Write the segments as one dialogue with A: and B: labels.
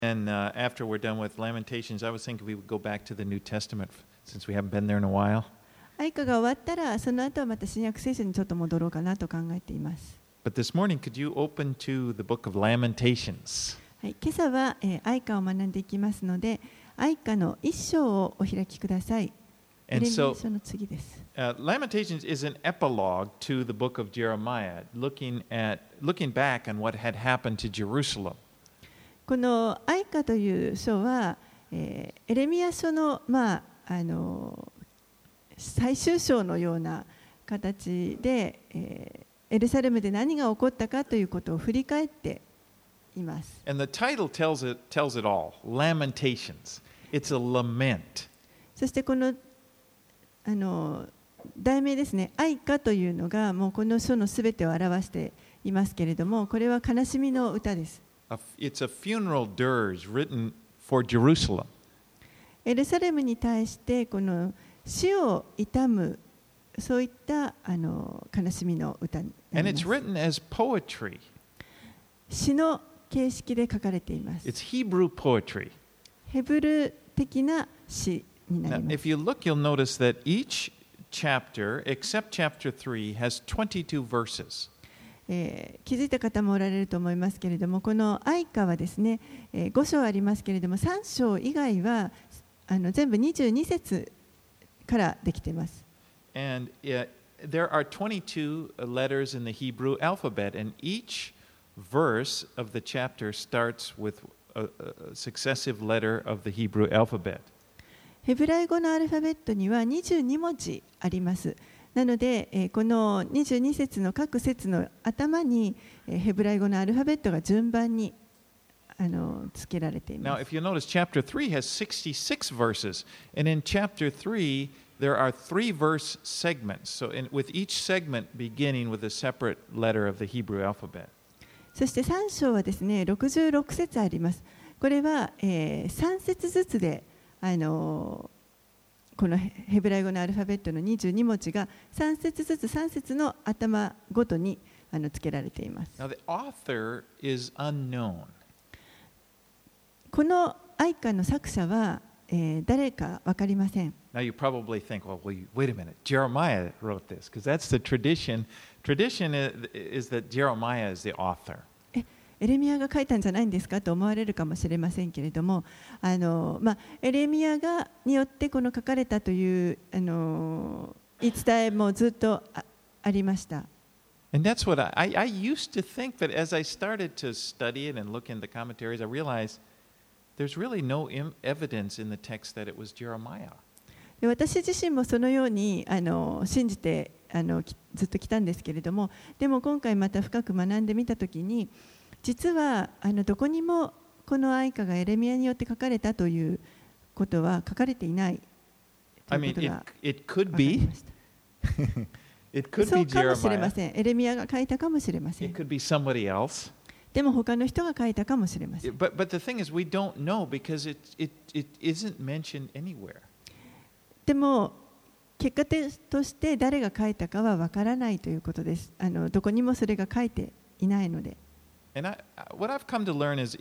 A: And after we're done with Lamentations, I was thinking we would go back to the New Testament since we haven't been there in a while.
B: 愛歌が終わったら、その後はまた新約聖書にちょっと戻ろうかなと考えています。
A: But this morning, could you open to the book of Lamentations?
B: はい、今朝は、愛歌を学んでいきますので、愛歌の一章をお開きください。エレミヤ書の次です。
A: Lamentations is an epilogue to the book of Jeremiah, looking back on what had happened to Jerusalem.
B: この愛歌という書は、エレミヤ書の、最終章のような形で、エルサレムで何が起こったかということを振り返っています。
A: And the title tells it all. Lamentations. It's a lament.
B: そしてこの題名ですね、愛歌というのがもうこの書のすべてを表していますけれども、これは悲しみの歌です。
A: It's a funeral dirge written for Jerusalem.
B: エルサレムに対してこの死を悼むそういった悲しみの歌になります。
A: And it's written as poetry.
B: 詩の形式で書かれています。
A: It's Hebrew poetry.
B: ヘブル的な詩になり
A: Now,
B: ます。
A: if you look, you'll notice that each chapter, except chapter 3, has 22 verses.
B: 気づいた方もおられると思いますけれども、この愛歌はですね、5章ありますけれども、3章以外は全部22節からできています。
A: And there are 22 letters in the Hebrew alphabet, and each verse of the chapter starts with a successive letter of the Hebrew alphabet.
B: ヘブライ語のアルファベットには22文字あります。なので、この22節の各節の頭にヘブライ語のアルファベットが順番に付けられています。
A: Now, if you notice, chapter 3 has 66 verses, and in chapter 3, there are 3 verse segments, so with each segment beginning with a separate letter of the Hebrew alphabet.
B: そして3章はですね、66節あります。これは、3節ずつでこのヘブライ語のアルファベットの22文字が3節ずつ3節の頭ごとに付けられています。
A: Now, the author is unknown.
B: この愛歌の作者は、誰か分かりません。
A: Now, you probably think, well, wait a minute, Jeremiah wrote this, because that's the tradition. Tradition is that Jeremiah is the author.
B: エレミヤが書いたんじゃないんですかと思われるかもしれませんけれども、エレミヤによってこの書かれたという言い伝えもずっとありました。
A: And that's what I used to think, but as I started to study it and look in the commentaries, I realized there's really no evidence in the text that it was Jeremiah.
B: 私自身もそのように信じてずっと来たんですけれども、でも今回また深く学んでみたときに、実はどこにもこの愛歌がエレミヤによって書かれたということは書かれていないということが分かりました。そうかもしれません。エレミヤが書いたかもしれません。
A: It could be somebody else.
B: でも他の人が書いたかもしれません。
A: But the thing is, we don't know because it isn't mentioned anywhere.
B: でも結果として誰が書いたかは分からないということです。どこにもそれが書いていないので。
A: And what I've come to learn is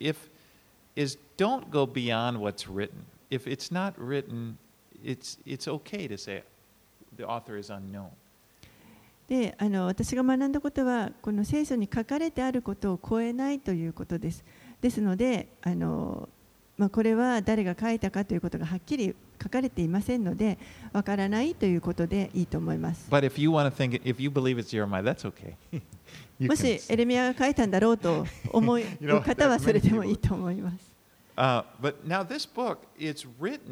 A: don't go beyond what's written. If it's not written, it's okay to say the author is unknown.
B: で、私が学んだことはこの聖書に書かれてあることを超えないということです。ですので、これは誰が書いたかということがはっきり書かれていませんので、わからないということでいいと思います。
A: But if you believe it's Jeremiah, that's okay.
B: もしエレミヤが書いたんだろうと思う方はそれでもいいと思います。
A: But now this book, it's read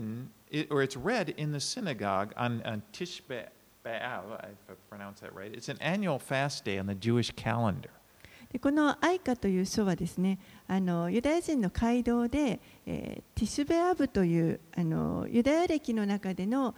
A: in the synagogue on Tish B'Av, if I pronounce that right. It's an annual fast day on the Jewish calendar.
B: でこの愛歌という書はですね、ユダヤ人の街道で、ティシュベアブというユダヤ歴の中での、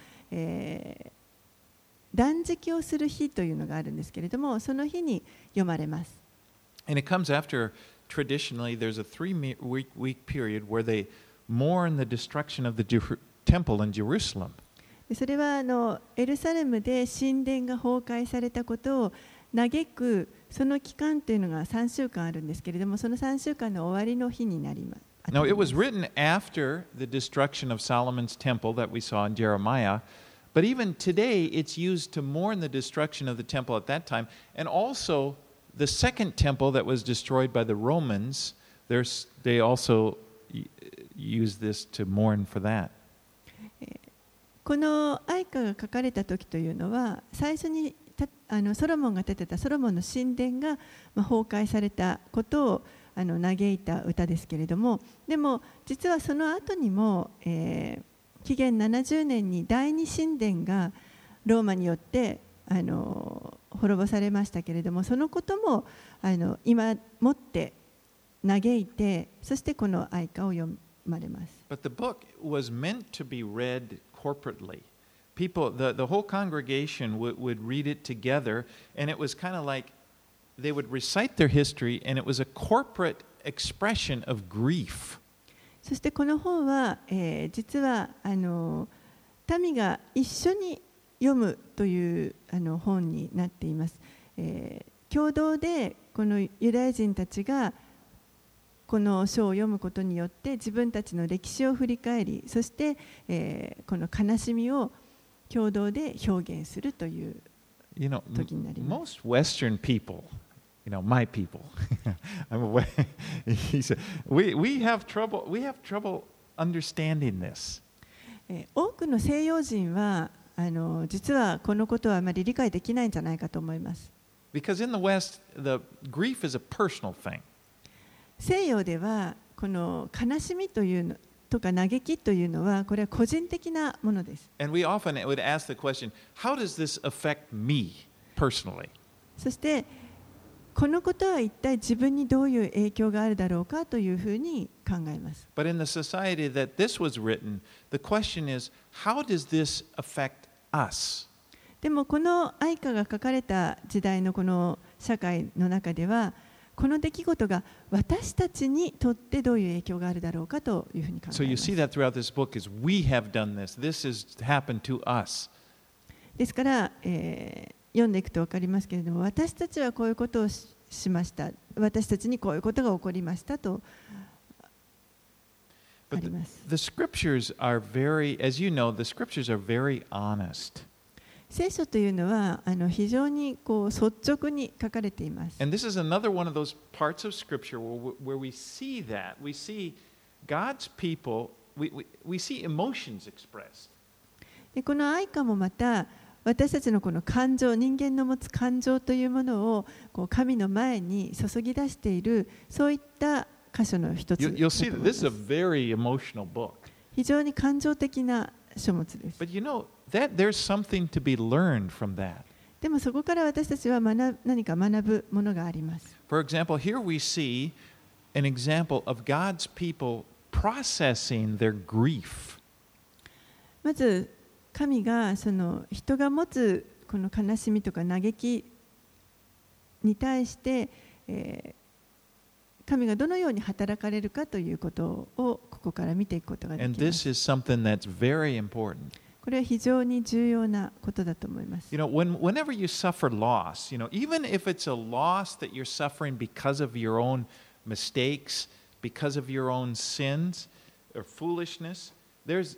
B: 断食をする日というのがあるんですけれども、その日に読まれます。
A: And it comes after, traditionally, there's a 3-week period where they mourn the destruction of the temple in Jerusalem.
B: それはエルサレムで神殿が崩壊されたことを嘆くその期間というのが3週間あるんですけれども、その3週間の終わりの日になります。 当
A: No,
B: たり
A: it
B: ま
A: was
B: す。
A: written after the destruction of Solomon's temple that we saw in Jeremiah. But even today, it's used to mourn the destruction of the temple at that time. And also, the second temple that was destroyed by the Romans, they also use this to mourn for that.
B: この愛歌が書かれた時というのは、最初にソロモンが建てたソロモンの神殿が崩壊されたことを嘆いた歌ですけれども、でも実はその後にも、紀元70年に第二神殿がローマによって滅ぼされましたけれども、そのことも今もって嘆いて、そしてこの愛歌を読まれます。
A: But the book was meant to be read corporately. People, the whole congregation would read it together, and it was kind of like they would recite their history, and it was a corporate expression of grief.
B: そしてこの本は、実は民が一緒に読むという本になっています。共同でこのユダヤ人たちがこの書を読むことによって自分たちの歴史を振り返り、そして、この悲しみを共同で表現するという時になります。
A: Most Western people, my people, he said, we have trouble understanding this.
B: 多くの西洋人は実はこのことはあまり理解できないんじゃないかと思います。
A: Because in the West, the grief is a personal thing.
B: 西洋ではこの悲しみというのとか嘆きというのはこれは個人的なものです。
A: And we often would ask the question, how does this affect me personally?
B: そしてこのことは一体自分にどういう影響があるだろうかというふうに考えます。
A: But in the society that this was written, the question is, how does this affect us?
B: でもこの愛歌が書かれた時代のこの社会の中では、この出来事が私たちにとってどういう影響があるだろうかというふうに考えます。
A: So you see that throughout this book is we have done this. This has happened to us.
B: ですから、読んでいくと分かりますけれども、私たちはこういうことを しました。私たちにこういうことが起こりましたとあります。
A: The scriptures are very, as you know, the scriptures are very honest.
B: 聖書というのは非常に率直に書かれています。
A: And this is another one of those parts of scripture where we see that. We see God's people, we see emotions expressed.
B: でこの愛歌もまた私たちのこの感情、人間の持つ感情というものを神の前に注ぎ出している、そういった箇所の一つだと思います。
A: You'll see that this is a very emotional book.
B: 非常に感情的な書物です。
A: But you know that there's something to be learned from that.
B: でもそこから私たちは何か学ぶものがあります。
A: For example, here we see an example of God's people processing their grief.
B: まず神がその人が持つこの悲しみとか嘆きに対して、神がどのように働かれるかということをここから見ていくことがで
A: And
B: きま
A: this
B: す。
A: is something that's very important.
B: これは非常に重要なことだと思います。
A: You know, whenever you suffer loss, even if it's a loss that you're suffering because of your own mistakes, because of your own sins or foolishness, there's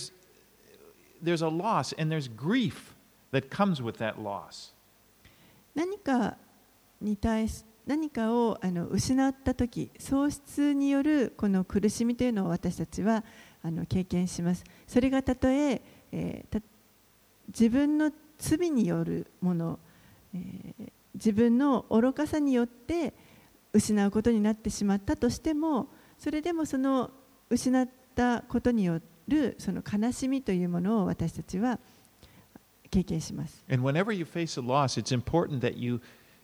A: a loss and there's grief that comes with that loss.
B: 何かを失ったとき、喪失によるこの苦しみというのを私たちは経験します。それがたとえ自分の罪によるもの、自分の愚かさによって失うことになってしまったとしても、それでもその失ったことによるその悲しみというものを私たちは経験します。
A: And whenever you face a loss, it's important that you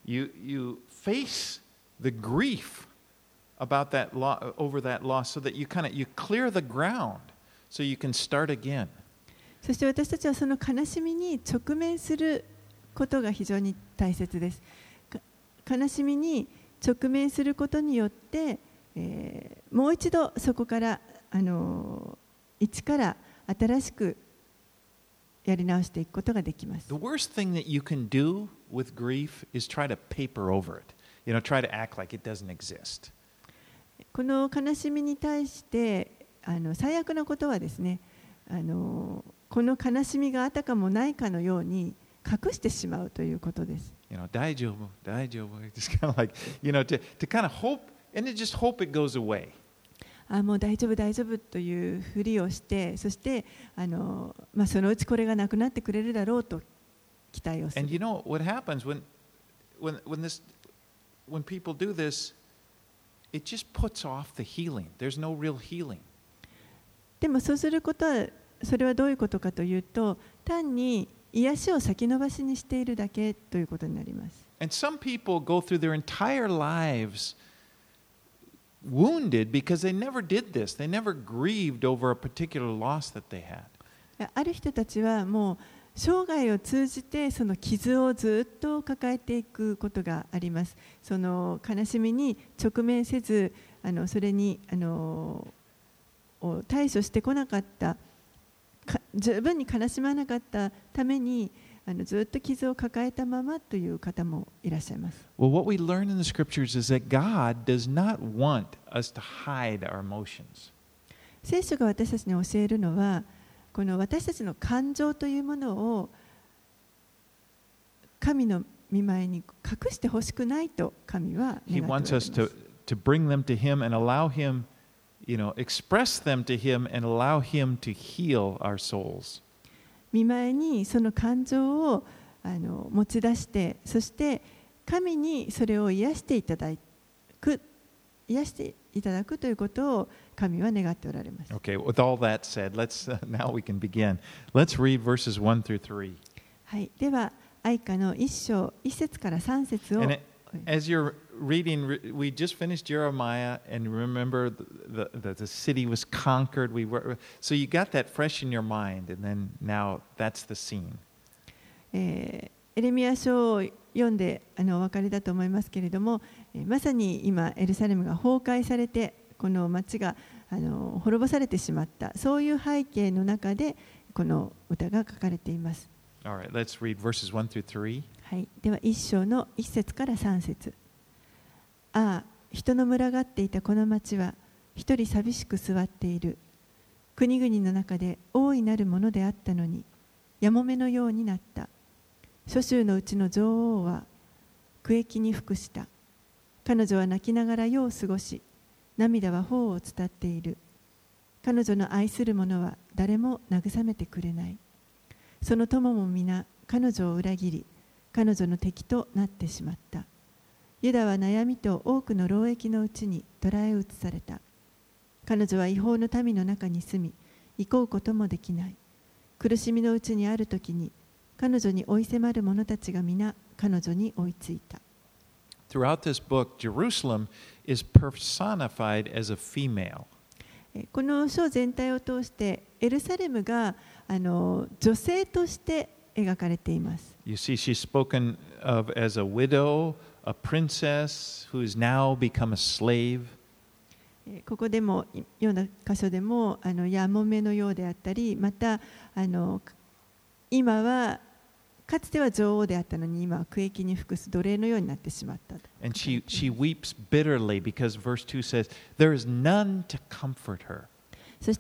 A: face the grief about that over that loss so that you clear the ground so you can start again.
B: そして私たちはその悲しみに直面することが非常に大切です。悲しみに直面することによって、もう一度そこから一から新しくやり直していくことができます。
A: The worst thing that you can do with grief is try to paper over it. Try to act like it doesn't exist.
B: この悲しみに対して最悪なことはですね、この悲しみがあたかもないかのように隠してしまうということです。
A: 大丈夫、大丈夫。Just kind of like, to kind of hope, and then just hope it goes away.
B: もう大丈夫大丈夫というふりをして、そしてそのうちこれがなくなってくれるだろうと期待をする。
A: And what happens when people do this, it just puts off the healing. There's no real healing.
B: でもそうすることは、それはどういうことかというと、単に癒しを先延ばしにしているだけということになります。
A: And some people go through their entire lives wounded because they never did this. They never grieved over a particular loss that they had.
B: ある人たちはもう生涯を通じてその傷をずっと抱えていくことがあります。その悲しみに直面せず、それに対処してこなかった、十分に悲しまなかったためにずっと傷を抱えたままという方もいらっしゃいます。
A: Well, what we learn in the scriptures is that God does not want us to hide our emotions.
B: 聖書が私たちに教えるのは、この私たちの感情というものを神の御前に隠してほしくないと神は願っておられます。
A: He wants us to bring them to Him and allow Him, express them to Him and allow Him to heal our souls.
B: 御前にその感情を持ち出して、そして神にそれを癒していただくということを神は願っておられます。
A: Okay, with all that said, now we can begin. Let's read verses 1 through 3.
B: はい、では愛歌の1章1節から3節を。
A: As you're reading, we just finished Jeremiah, and remember the city was conquered. So you got that fresh in your mind, and then now that's the scene.
B: エレミヤ書を読んでお分かりだと思いますけれども、まさに今エルサレムが崩壊されて、この町が滅ぼされてしまった、そういう背景の中でこの歌が書かれています。
A: All right, let's read verses 1 through 3.
B: はい、では1章の1節から3節。ああ、人の群がっていたこの町は一人寂しく座っている。国々の中で大いなるものであったのに、やもめのようになった。諸州のうちの女王は苦役に服した。彼女は泣きながら夜を過ごし、涙は頬を伝っている。彼女の愛する者は誰も慰めてくれない。その友も皆彼女を裏切り、彼女の敵となってしまった。ユダは悩みと多くの労役のうちに捕らえ移された。彼女は違法の民の中に住み、行こうこともできない。苦しみのうちにあるときに、彼女に追い迫る者たちが皆彼女に追いついた。
A: Throughout this book, Jerusalem is personified as a female.
B: この書全体を通してエルサレムが女性として描かれています。
A: You see, she's spoken of as a widow, a princess who has now become a slave.
B: ここでも読んだ箇所でもやもめのようであったり、また今はかつては女王であったのに今は苦役に服す奴隷のようになってしまった。
A: And she weeps bitterly because verse 2 says, there is none to comfort her.
B: そして、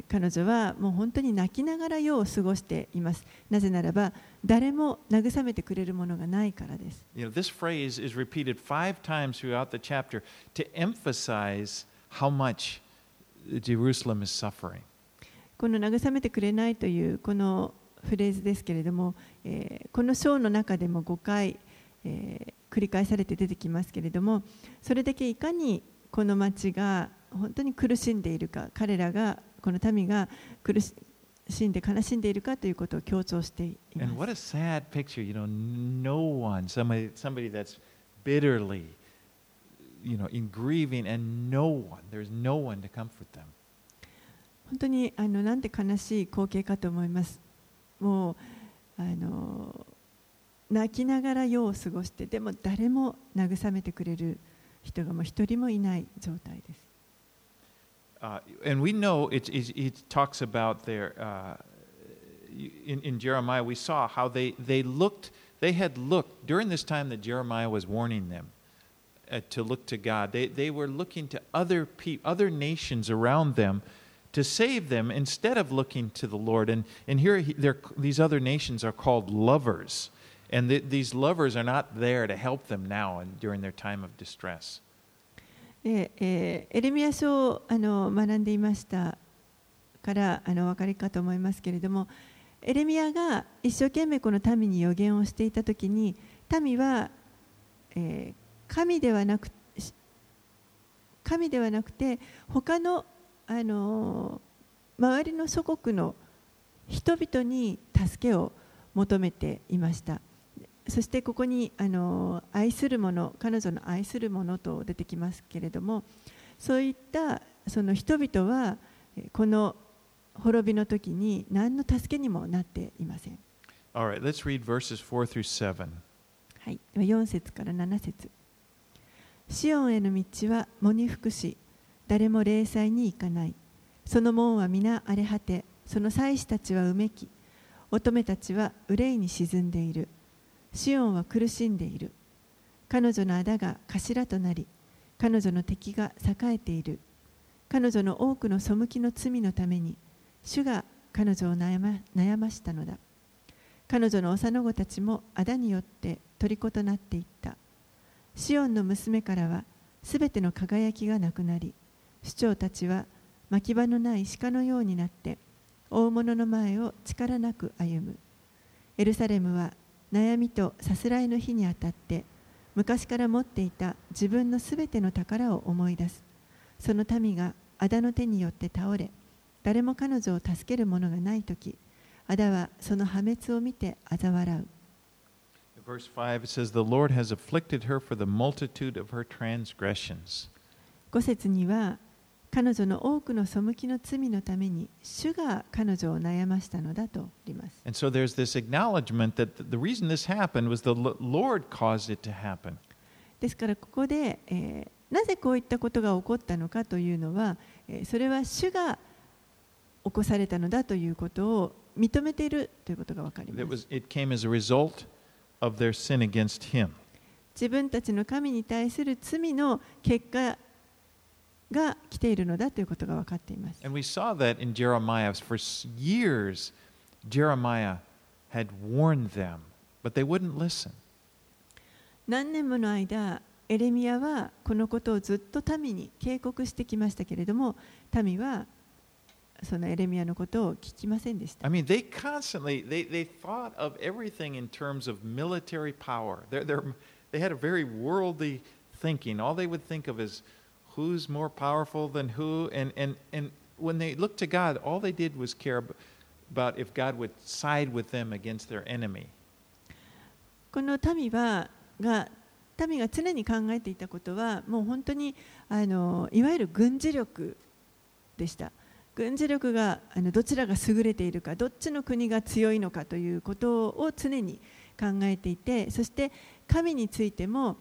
B: 彼女はもう本当に泣きながら夜を過ごしています。なぜならば誰も慰めてくれるものがないからです。
A: This phrase is repeated 5 times throughout the chapter to emphasize how much Jerusalem is suffering.
B: この慰めてくれないというこのフレーズですけれども、この章の中でも5回、繰り返されて出てきますけれども、それだけいかにこの町が本当に苦しんでいるか、彼らがこの民が苦しんで悲しんでいるかということを強調しています。
A: And what a sad picture, no one, somebody that's bitterly, in grieving, and there's no one to comfort them.
B: 本当になんて悲しい光景かと思います。もう泣きながら夜を過ごして、でも誰も慰めてくれる人がもう一人もいない状態です。
A: And we know it talks about their in Jeremiah. We saw how they had looked during this time that Jeremiah was warning them to look to God. They were looking to other nations around them to save them instead of looking to the Lord. And here these other nations are called lovers. And these lovers are not there to help them now and during their time of distress.
B: エレミヤ書を学んでいましたからお分かりかと思いますけれども、エレミヤが一生懸命この民に予言をしていたときに、民は、神ではなくて他の、周りの諸国の人々に助けを求めていました。そしてここに愛する者、彼女の愛する者と出てきますけれども、そういったその人々はこの滅びの時に何の助けにもなっていません。
A: All right, let's read verses 4 through 7.
B: はい、4節から7節。シオンへの道は喪に服し、誰も礼祭に行かない。その門は皆荒れ果て、その祭司たちはうめき、乙女たちは憂いに沈んでいる。シオンは苦しんでいる。彼女の仇が頭となり、彼女の敵が栄えている。彼女の多くの背きの罪のために、主が彼女を悩ましたのだ。彼女の幼子たちも仇によって虜となっていった。シオンの娘からはすべての輝きがなくなり、首長たちは牧場のない鹿のようになって、大物の前を力なく歩む。エルサレムは悩みとさすらいの日にあたって、昔から持っていた自分のすべての宝を思い出す。その民が仇の手によって倒れ、誰も彼女を助ける者がないとき、仇はその破滅を見て嘲笑う。
A: Verse 5 it says, The Lord has afflicted her for the multitude of her transgressions.
B: 5節には、彼女の多くの背きの罪のために、主が彼女を悩ましたのだとあります。
A: And so there's this acknowledgement that the reason this happened was the Lord caused it to happen.
B: ですからここで、なぜこういったことが起こったのかというのは、それは主が起こされたのだということを認めているということがわかります。
A: It came as a result of their sin against him.
B: 自分たちの神に対する罪の結果が来ているのだということが分かっています。
A: And we saw that in Jeremiah. For years, Jeremiah had warned them, but they wouldn't listen.
B: 何年もの間、エレミヤはこのことをずっと民に警告してきましたけれども、民はそのエレミヤのことを聞きませんでした。
A: I mean, they constantly they thought of everything in terms of military power. They had a very worldly thinking. All they would think of is who's more powerful than who, and when they looked to God, all they did was care about if God would side with them against their enemy.
B: この民が常に考えていたことは、もう本当にいわゆる軍事力でした。軍事力がどちらが優れているか、どっちの国が強いのかということを常に考えていて、そして神についても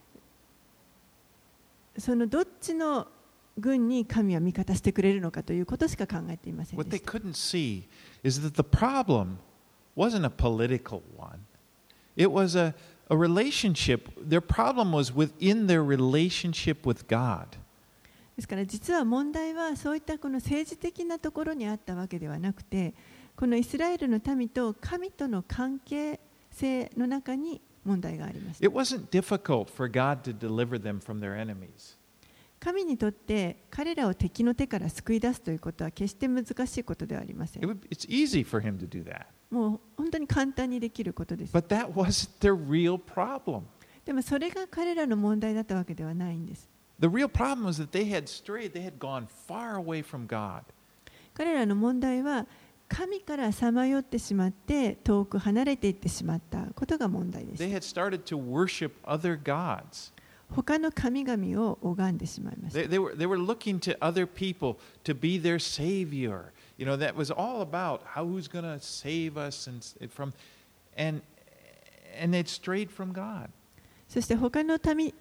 B: そのどっちの軍に神は味方してくれるのかということしか考えていませんで
A: What
B: し
A: they
B: た。
A: couldn't see is that the problem wasn't a political one. It was a relationship. Their problem was within their relationship with God.
B: ですから実は問題はそういったこの政治的なところにあったわけではなくて、このイスラエルの民と神との関係性の中に問題がありました。
A: It wasn't difficult for God to deliver them from their enemies.
B: 神にとって彼らを敵の手から救い出すということは決して難しいことではありません。
A: It's easy for him to do that.
B: もう本当に簡単にできることです。
A: But that wasn't their real problem.
B: でもそれが彼らの問題だったわけではないんです。
A: The real problem was that they had strayed, they had gone far away from God.
B: 彼らの問題は神からさまよってしまって遠く離れていってしまったことが問題で
A: They
B: す。
A: had started to worship other gods.
B: 他の神々を拝んでしまいました。
A: They were looking to other people to be their savior. You know, that was all about who's going to save us and they'd strayed from God.
B: そして他の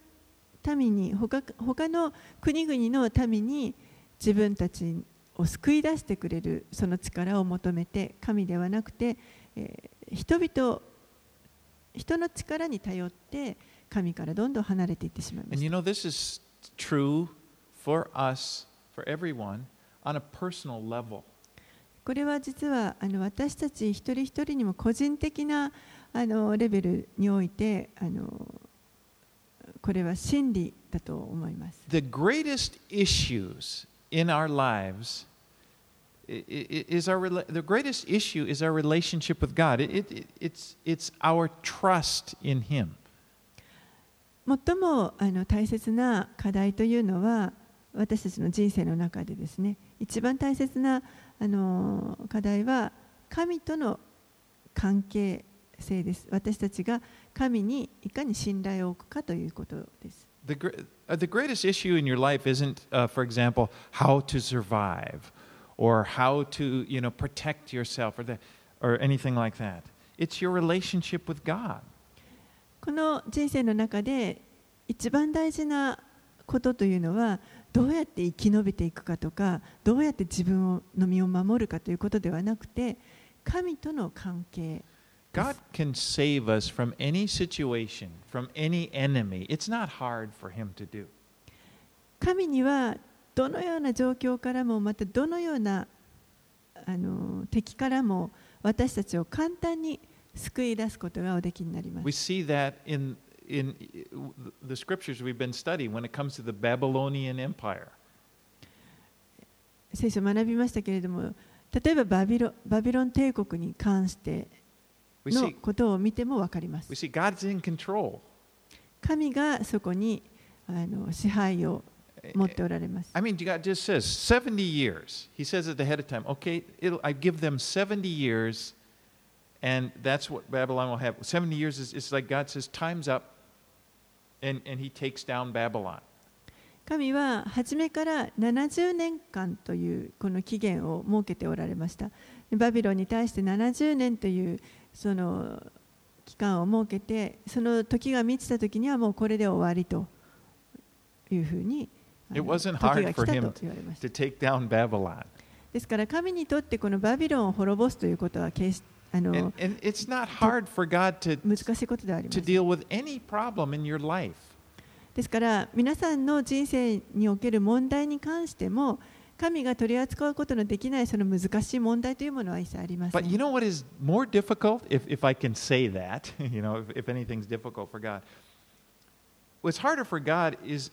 B: 国々の民に自分たちを救い出してくれるその力を求めて、神ではなくて、人の力に頼って神からどんどん離れていってしまいま
A: And
B: し
A: you
B: た。
A: know, this is true for us, for everyone, on a personal level.
B: これは実は私たち一人一人にも個人的なレベルにおいてこれは真理だと思います。
A: The greatest issues in our lives the greatest issue is our relationship with God. It's our trust in Him.
B: 最も大切な課題というのは私たちの人生の中でですね、一番大切な課題は神との関係性です。私たちが神にいかに信頼を置くかということです。
A: The greatest issue in your life isn't, for example, how to survive or how to, protect yourself or anything like that. It's your relationship with God.
B: この人生の中で一番大事なことというのはどうやって生き延びていくかとか、どうやって自分の身を守るかということではなくて、神との関係。
A: God can save us from any situation, from any enemy. It's not hard for Him to do.
B: 神にはどのような状況からも、またどのような敵からも私たちを簡単に救い出すことがおできになります。
A: We see that in the scriptures we've been studying when it comes to the Babylonian Empire.
B: 聖書を学びましたけれども、例えばバビロン帝国に関してのことを見ても分かります。
A: We see God's in control.
B: 神がそこに支配を持っておられます。
A: I mean, God just says 70 years. He says at the head of time, okay, I give them 70 years, and that's what Babylon will have. 70 years is like God says, time's up, and He takes down Babylon.
B: 神は初めから70年間というこの期限を設けておられました。バビロンに対して70年というその期間を設けて、その時が満ちた時にはもうこれで終わりというふうに
A: It wasn't hard for him to take down Babylon.
B: ですから神にとってこのバビロンを滅ぼすということは決して
A: And it's not hard for God to
B: 難しいことではありませ
A: to
B: ん。
A: deal with any problem in your life.
B: ですから皆さんの人生における問題に関しても神が取り扱うことのできないその難しい問題というものは一切ありませ
A: But
B: ん。
A: you know what is more difficult, if I can say that, if anything's difficult for God, what's harder for God is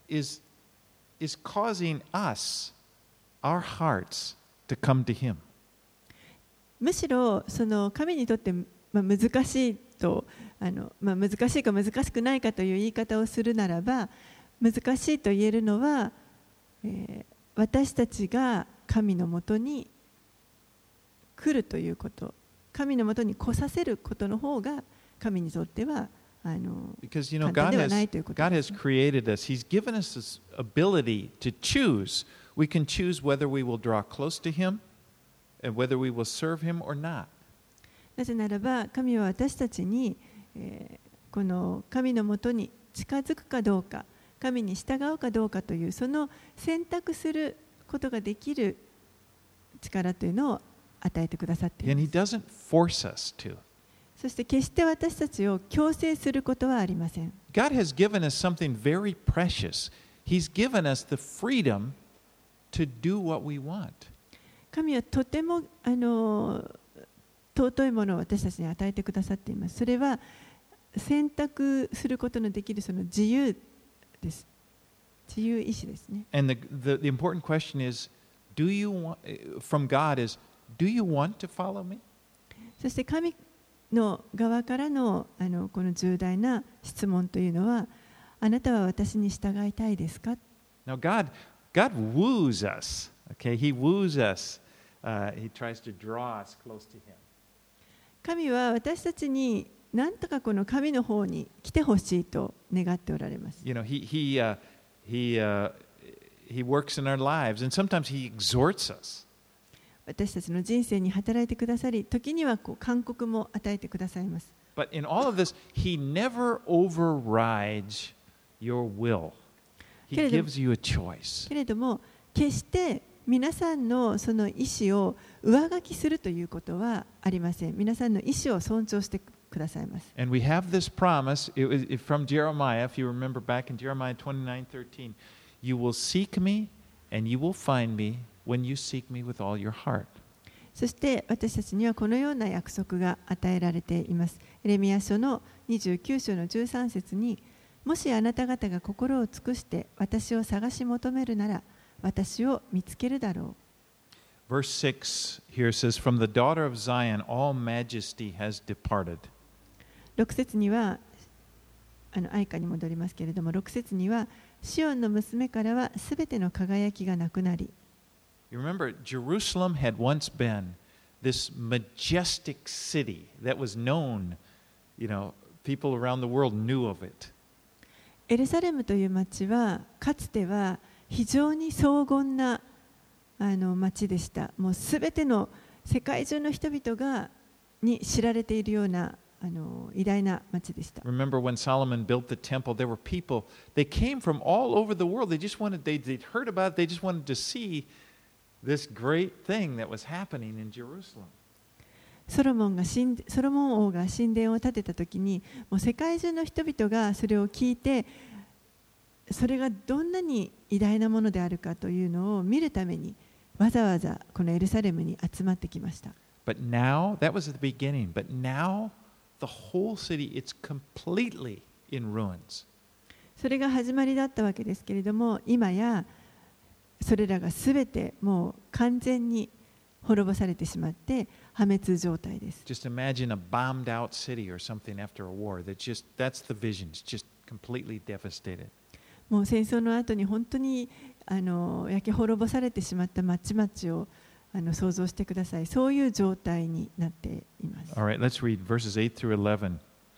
A: causing us, our hearts, to come to Him.
B: むしろその神にとって難しいと難しいか難しくないかという言い方をするならば、難しいと言えるのは、私たちが神のもとに来るということ、神のもとに来させることの方が神にとっては
A: Because
B: 簡単ではないということです。
A: God has created us. He's given us this ability to choose. We can choose whether we will draw close to Him and whether we will serve Him or not.
B: なぜならば神は私たちに、この神のもとに近づくかどうか、神に従うかどうかというその選択することができる力というのを与えてくださっています。
A: And He doesn't force us to.
B: そして決して私たちを強制することはありません。
A: God has given us something very precious. He's given us the freedom to do what we want.
B: 神はとても尊いものを私たちに与えてくださっています。それは選択することのできるその自由です。自由意志ですね。
A: And the important question is, from God is, do you want to follow me?
B: そして神の側からのこの重大な質問というのは、あなたは私に従いたいですか？
A: Now God woos us. Okay, He woos us. He tries to draw us close to Him.
B: 神は私たちに何とかこの神の方に来てほしいと願っておられます。
A: You know, He works in our lives, and sometimes He exhorts us.
B: 私たちの人生に働いてくださり、時には勧告も与えてくださいます。
A: But in all of this, He never overrides your will. He gives you a choice.
B: けれども、決して皆さんのその意思を上書きするということはありません。皆さんの意思を尊重してくださいます。
A: And we have this promise from Jeremiah, if you remember back in Jeremiah 29:13, you will seek me and you will find me when you seek me with all your heart.
B: そして私たちにはこのような約束が与えられています。エレミヤ書の29章の13節に、もしあなた方が心を尽くして私を探し求めるなら、私を見つけるだろ
A: う。Verse 6 here says, From the daughter of Zion, all majesty has departed.
B: 6節には、愛歌に戻りますけれども、6節には、シオンの娘からはすべての輝きがなくなり。
A: You remember, Jerusalem had once been this majestic city that was known, people around the world knew of it.
B: エルサレムという町は、かつては非常に荘厳な町でした。もうすべての世界中の人々に知られているような偉大な町でした。
A: Remember when Solomon built the temple, there were people, they came from all over the world. They'd heard about it, they just wanted to see this great thing that was happening in Jerusalem.
B: ソロモン王が神殿を建てたときに、もう世界中の人々がそれを聞いて、それがどんなに偉大なものであるかというのを見るために、わざわざこのエルサレムに集まってきました。
A: But now, that was at the beginning, but now the whole city, it's completely in ruins.
B: それが始まりだったわけですけれども、今やそれらがすべてもう完全に滅ぼされてしまって破滅状態です。
A: Just imagine a bombed out city or something after a war. That's the vision. It's just completely devastated.
B: もう戦争の後に本当に焼け滅ぼされてしまった町々を想像してください。そういう状態になっています。
A: All right, let's read verses 8 through 11.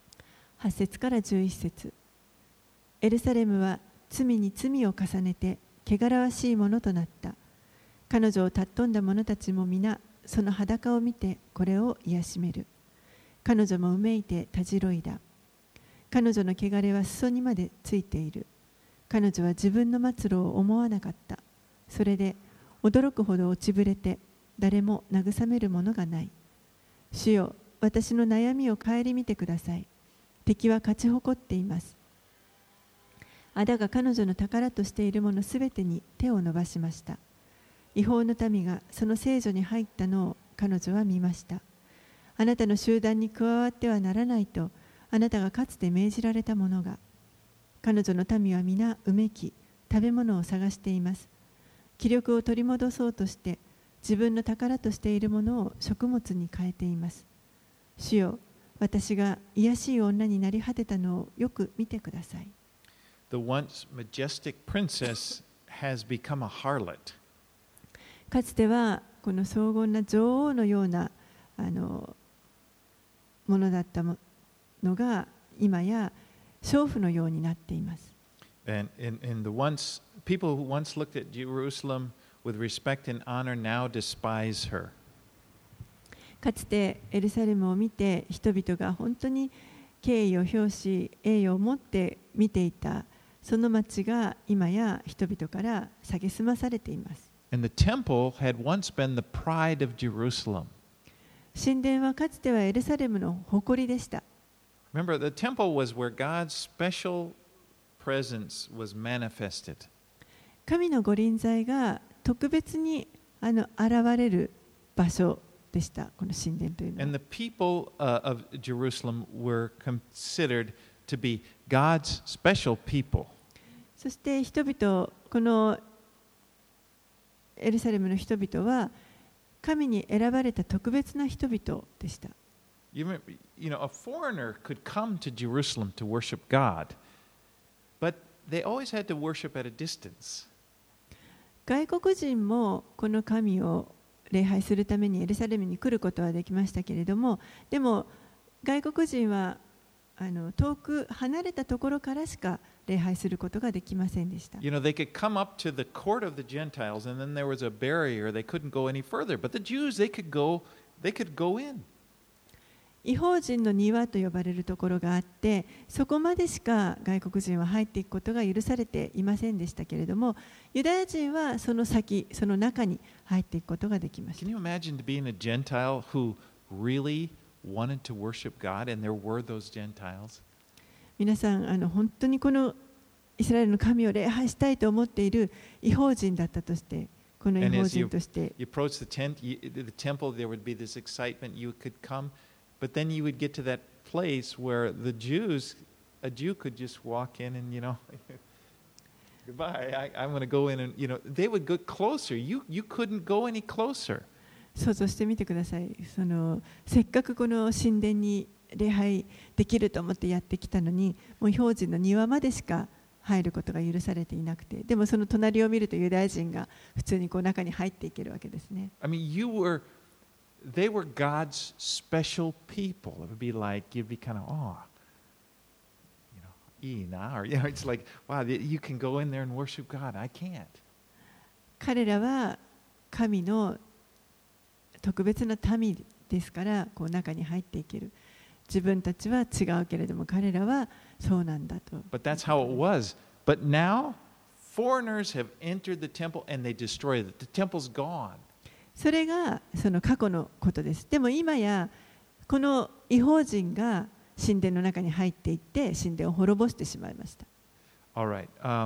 B: 8節から11節。エルサレムは罪に罪を重ねて汚らわしいものとなった。彼女を尊んだ者たちも皆その裸を見てこれを癒しめる。彼女もうめいてたじろいだ。彼女の汚れは裾にまでついている。彼女は自分の末路を思わなかった。それで驚くほど落ちぶれて誰も慰めるものがない。主よ、私の悩みを顧みてください。敵は勝ち誇っています。あだが彼女の宝としているものすべてに手を伸ばしました。違法の民がその聖女に入ったのを彼女は見ました。あなたの集団に加わってはならないとあなたがかつて命じられたものが。彼女の民は皆うめき、食べ物を探しています。気力を取り戻そうとして自分の宝としているものを食物に変えています。主よ、私が卑しい女になり果てたのをよく見てください。
A: The once majestic princess has become a harlot.
B: かつてはこの荘厳な女王のようなものだったのが今や娼婦のようになっています。
A: And people who once looked at Jerusalem with respect and honor now despise her.
B: かつてエルサレムを見て人々が本当に敬意を表し栄誉を持って見ていたその町が今や人々から蔑まされています。
A: And the temple had once been the pride of Jerusalem.
B: 神殿はかつてはエルサレムの誇りでした。
A: Remember, the temple was where God's special presence was manifested.
B: 神の御臨在が特別に現れる場所でした。この神殿というのは。
A: And the people of Jerusalem were considered to be God's special people.
B: そして人々、このエルサレムの人々は神に選ばれた特別な人々でした。
A: You know, a foreigner could come to Jerusalem to worship God, but they always had to worship at a distance.
B: 外国人もこの神を礼拝するためにエルサレムに来ることはできましたけれども、でも外国人は遠く離れたところからしか礼拝することができませんでした。
A: You know, they could come up to the court of the Gentiles, and then there was a barrier; they couldn't go any further. But the Jews, they could go in.
B: 異邦人の庭と呼ばれるところがあって、そこまでしか外国人は入っていくことが許されていませんでしたけれども、ユダヤ人はその先、その中に入っていくことができました。
A: Can you imagine being a Gentile who really wanted to worship God, and there were those Gentiles.
B: 皆さん本当にこのイスラエルの神を礼拝したいと思っている異邦人だったとして、この異邦人として。
A: You approach the temple, there would be this excitement. You could come, but then you would get to that place where a Jew could just walk in and, goodbye, I'm going to go in and, they would go closer. You couldn't go any closer.
B: 想像してみてください。せっかくこの神殿に礼拝できると思ってやってきたのに、もう異邦人の庭までしか入ることが許されていなくて、でもその隣を見るとユダヤ人が普通にこう中に入っていけるわけですね。
A: I mean, they were God's special people. It would be like, you'd be kind of, or it's like, wow, you can go in there and worship God. I can't.
B: 彼らは神の特別な民ですから、こう中に入っていける。自分たちは違うけれども、彼らはそうなんだと。
A: But that's how it was. But now, foreigners have entered the temple and they destroyed it. The temple's gone.
B: それがその過去のことです。でも今やこの異邦人が神殿の中に入っていって神殿を滅ぼしてしまいました。
A: All right.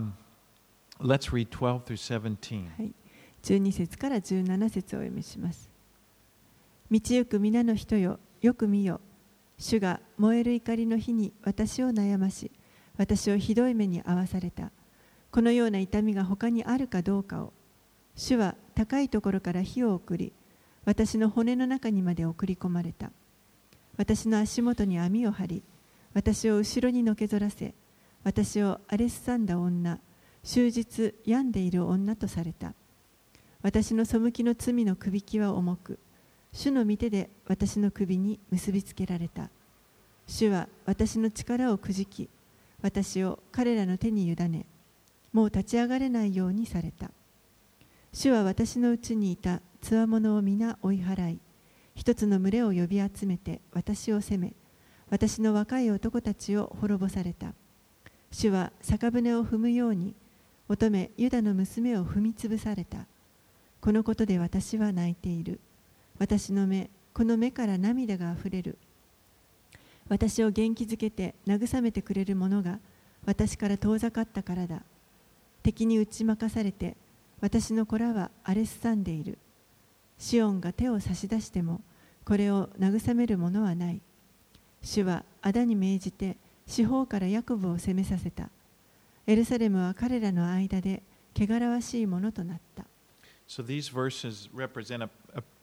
A: Let's read 12 through 17.
B: はい、12節から17節をお読みします。道行く皆の人よ、よく見よ。主が燃える怒りの日に私を悩まし、私をひどい目に遭わされた。このような痛みが他にあるかどうかを。主は高いところから火を送り、私の骨の中にまで送り込まれた。私の足元に網を張り、私を後ろにのけぞらせ、私を荒れすさんだ女、終日病んでいる女とされた。私の背きの罪のくびきは重く、主の御手で私の首に結びつけられた。主は私の力をくじき、私を彼らの手に委ね、もう立ち上がれないようにされた。主は私のうちにいた強者を皆追い払い、一つの群れを呼び集めて私を責め、私の若い男たちを滅ぼされた。主は酒舟を踏むように、乙女ユダの娘を踏みつぶされた。このことで私は泣いている。私の目、この目から涙があふれる。私を元気づけて慰めてくれる者が私から遠ざかったからだ。敵に打ち負かされて、私の子らは荒れすさんでいる。シオンが手を差し出しても、これを慰める者はない。主はアダに命じて、四方からヤコブを攻めさせた。エルサレムは彼らの間で汚らわしいものとなった。
A: So these verses represent a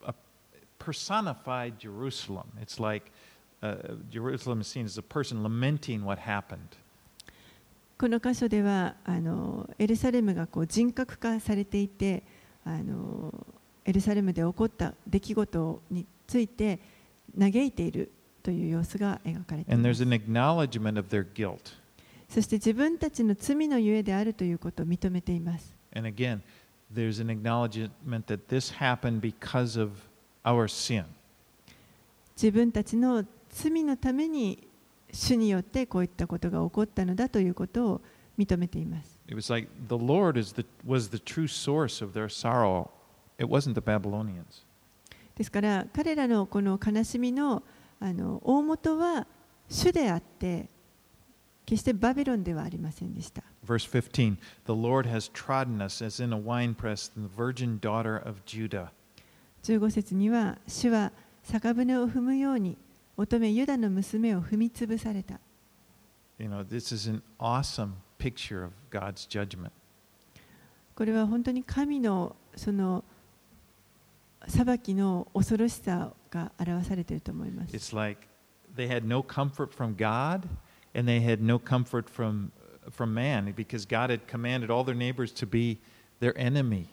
A: personified Jerusalem. It's like Jerusalem is seen as a person lamenting what happened.
B: この箇所ではエルサレムがこう人格化されていて、エルサレムで起こった出来事について嘆いているという様子が描かれています。
A: And there's an acknowledgement of their guilt.
B: そして自分たちの罪のゆえであるということを認めています。
A: And again, there's an acknowledgement that this happened because of our sin.
B: 自分たちの罪のために主によってこういったことが起こったのだということを認めています。
A: It was like the Lord was the true source of their sorrow. It wasn't the Babylonians.
B: ですから彼らのこの悲しみの大元は主であって、決してバビロンではありませんでした。
A: Verse 15, the Lord has trodden us as in a winepress, the virgin daughter of Judah.
B: 15節には、主は酒舟を踏むように乙女ユダの娘を踏みつぶされた。
A: You know, this is an awesome picture of God's judgment.
B: これは本当に神のその裁きの恐ろしさが表されていると思います。
A: It's like they had no comfort from God and they had no comfort from man because God had commanded all their neighbors to be their enemy.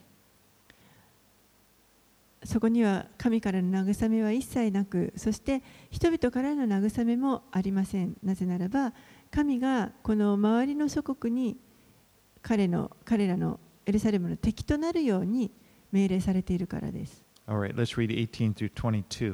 B: そこには神からの慰めは一切なく、そして人々からの慰めもありません。なぜならば神がこの周りの諸国に彼らのエルサレムの敵となるように命令されているからです。
A: All right, let's read 18 through 22.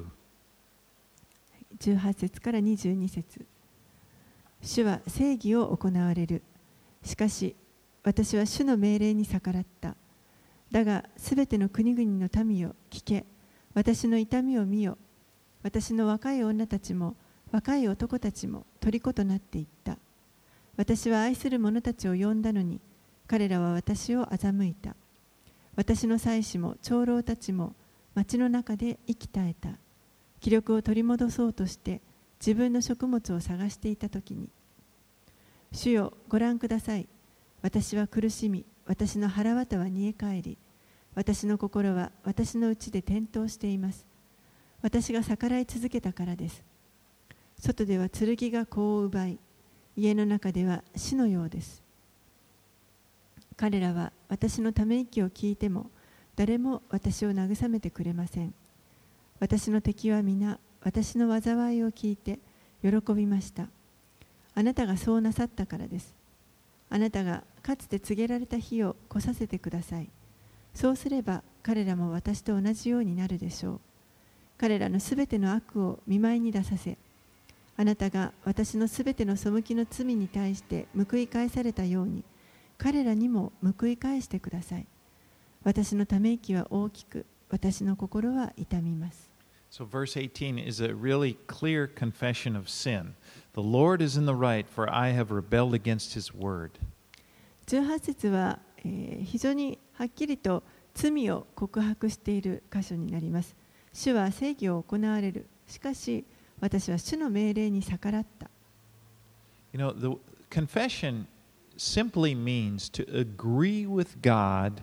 B: 18節から22節。主は正義を行われる。しかし私は主の命令に逆らった。だがすべての国々の民よ聞け。私の痛みを見よ。 私の若い女たちも若い男たちも虜となっていった。私は愛する者たちを呼んだのに、彼らは私を欺いた。私の妻子も長老たちも町の中で息絶えた。気力を取り戻そうとして自分の食物を探していたときに、主よ、ご覧ください。私は苦しみ、私の腹渡は煮え返り、私の心は私のうちで転倒しています。私が逆らい続けたからです。外では剣が子を奪い、家の中では死のようです。彼らは私のため息を聞いても、誰も私を慰めてくれません。私の敵は皆、私の災いを聞いて喜びました。あなたがそうなさったからです。あなたがかつて告げられた日を来させてください。そうすれば彼らも私と同じようになるでしょう。彼らのすべての悪を見舞いに出させ、あなたが私のすべての背きの罪に対して報い返されたように、彼らにも報い返してください。私のため息は大きく、私の心は痛みます。
A: So verse 18 is a really clear confession of sin. The Lord is in the right, for I have rebelled against his word.
B: 18節は、非常にはっきりと罪を告白している箇所になります。主は正義を行われる。しかし、私は主の命令に逆らった。
A: You know, the confession simply means to agree with God,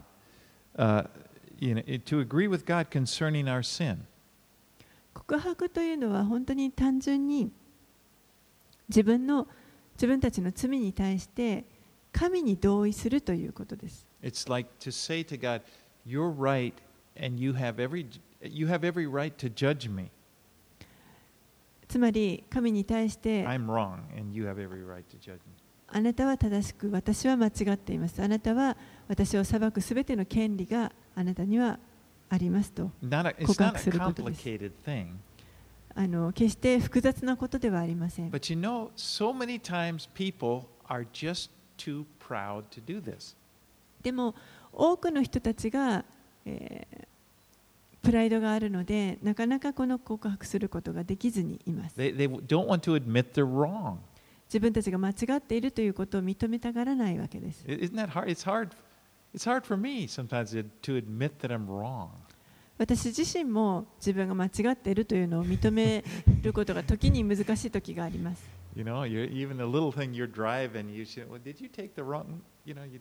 A: to agree with God concerning our sin.
B: 告白というのは本当に単純に自分たちの罪に対して神に同意するということです。
A: It's like to say to God, "You're right, and you have every right to judge me."
B: つまり神に対して
A: I'm wrong, and you have every right to judge me.
B: あなたは正しく、私は間違っています。あなたは私を裁くすべての権利があなたにはありますと告白することです。決して複雑なことではありません。
A: But you know, so many times people are just too proud to do this.
B: でも多くの人たちが、プライドがあるので、なかなかこの告白することができずにいます。
A: They don't want to admit they're wrong.
B: 自分たちが間違っているということを認めたがらないわけです。
A: Isn't that hard? It's hard for me sometimes to admit that I'm wrong.
B: 私自身も自分が間違っているというのを認めることが時に難しい時があります。
A: You know, even a little thing you're driving, you say, "Well, did you take the wrong?" You know,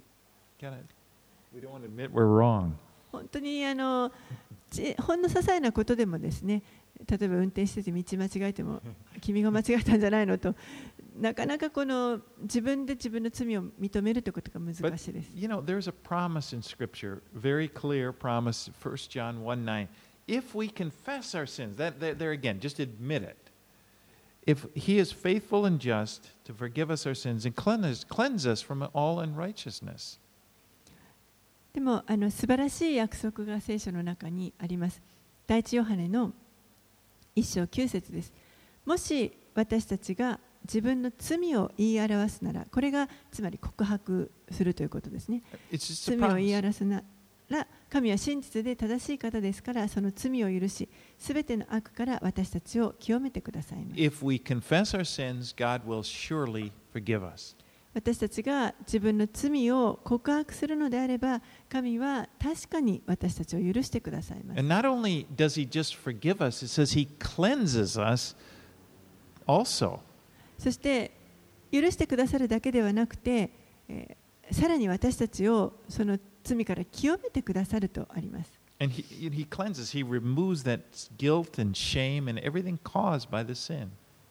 A: we don't want to admit we're wrong.
B: 本当にほんの些細なことでもですね、例えば運転してて道間違えても君が間違えたんじゃないのと、なかなかこの自分で自分の罪を認めるということが難しいです。
A: You know, there's a promise in Scripture, very clear promise, 1 John 1:9. If we confess our sins, there again, just admit it. If He is faithful and just to forgive us our sins and cleanse us from all unrighteousness.
B: でも素晴らしい約束が聖書の中にあります。第一ヨハネの1章9節です。もし私たちが自分の罪を言い表すなら、これがつまり告白するということですね。罪を言い表すなら、神は真実で正しい方ですから、その罪を許し、すべての悪から私たちを清めてくださいます。
A: If we confess our sins, God will surely forgive us.
B: 私たちが自分の罪を告白するのであれば、神は確かに私たちを許してくださいます。
A: And not only does He just forgive us, it says He cleanses us also.
B: そして許してくださるだけではなくて、さらに私たちをその罪から清めてくださるとあります。
A: And he cleanses, He removes that guilt and shame and everything caused by the sin.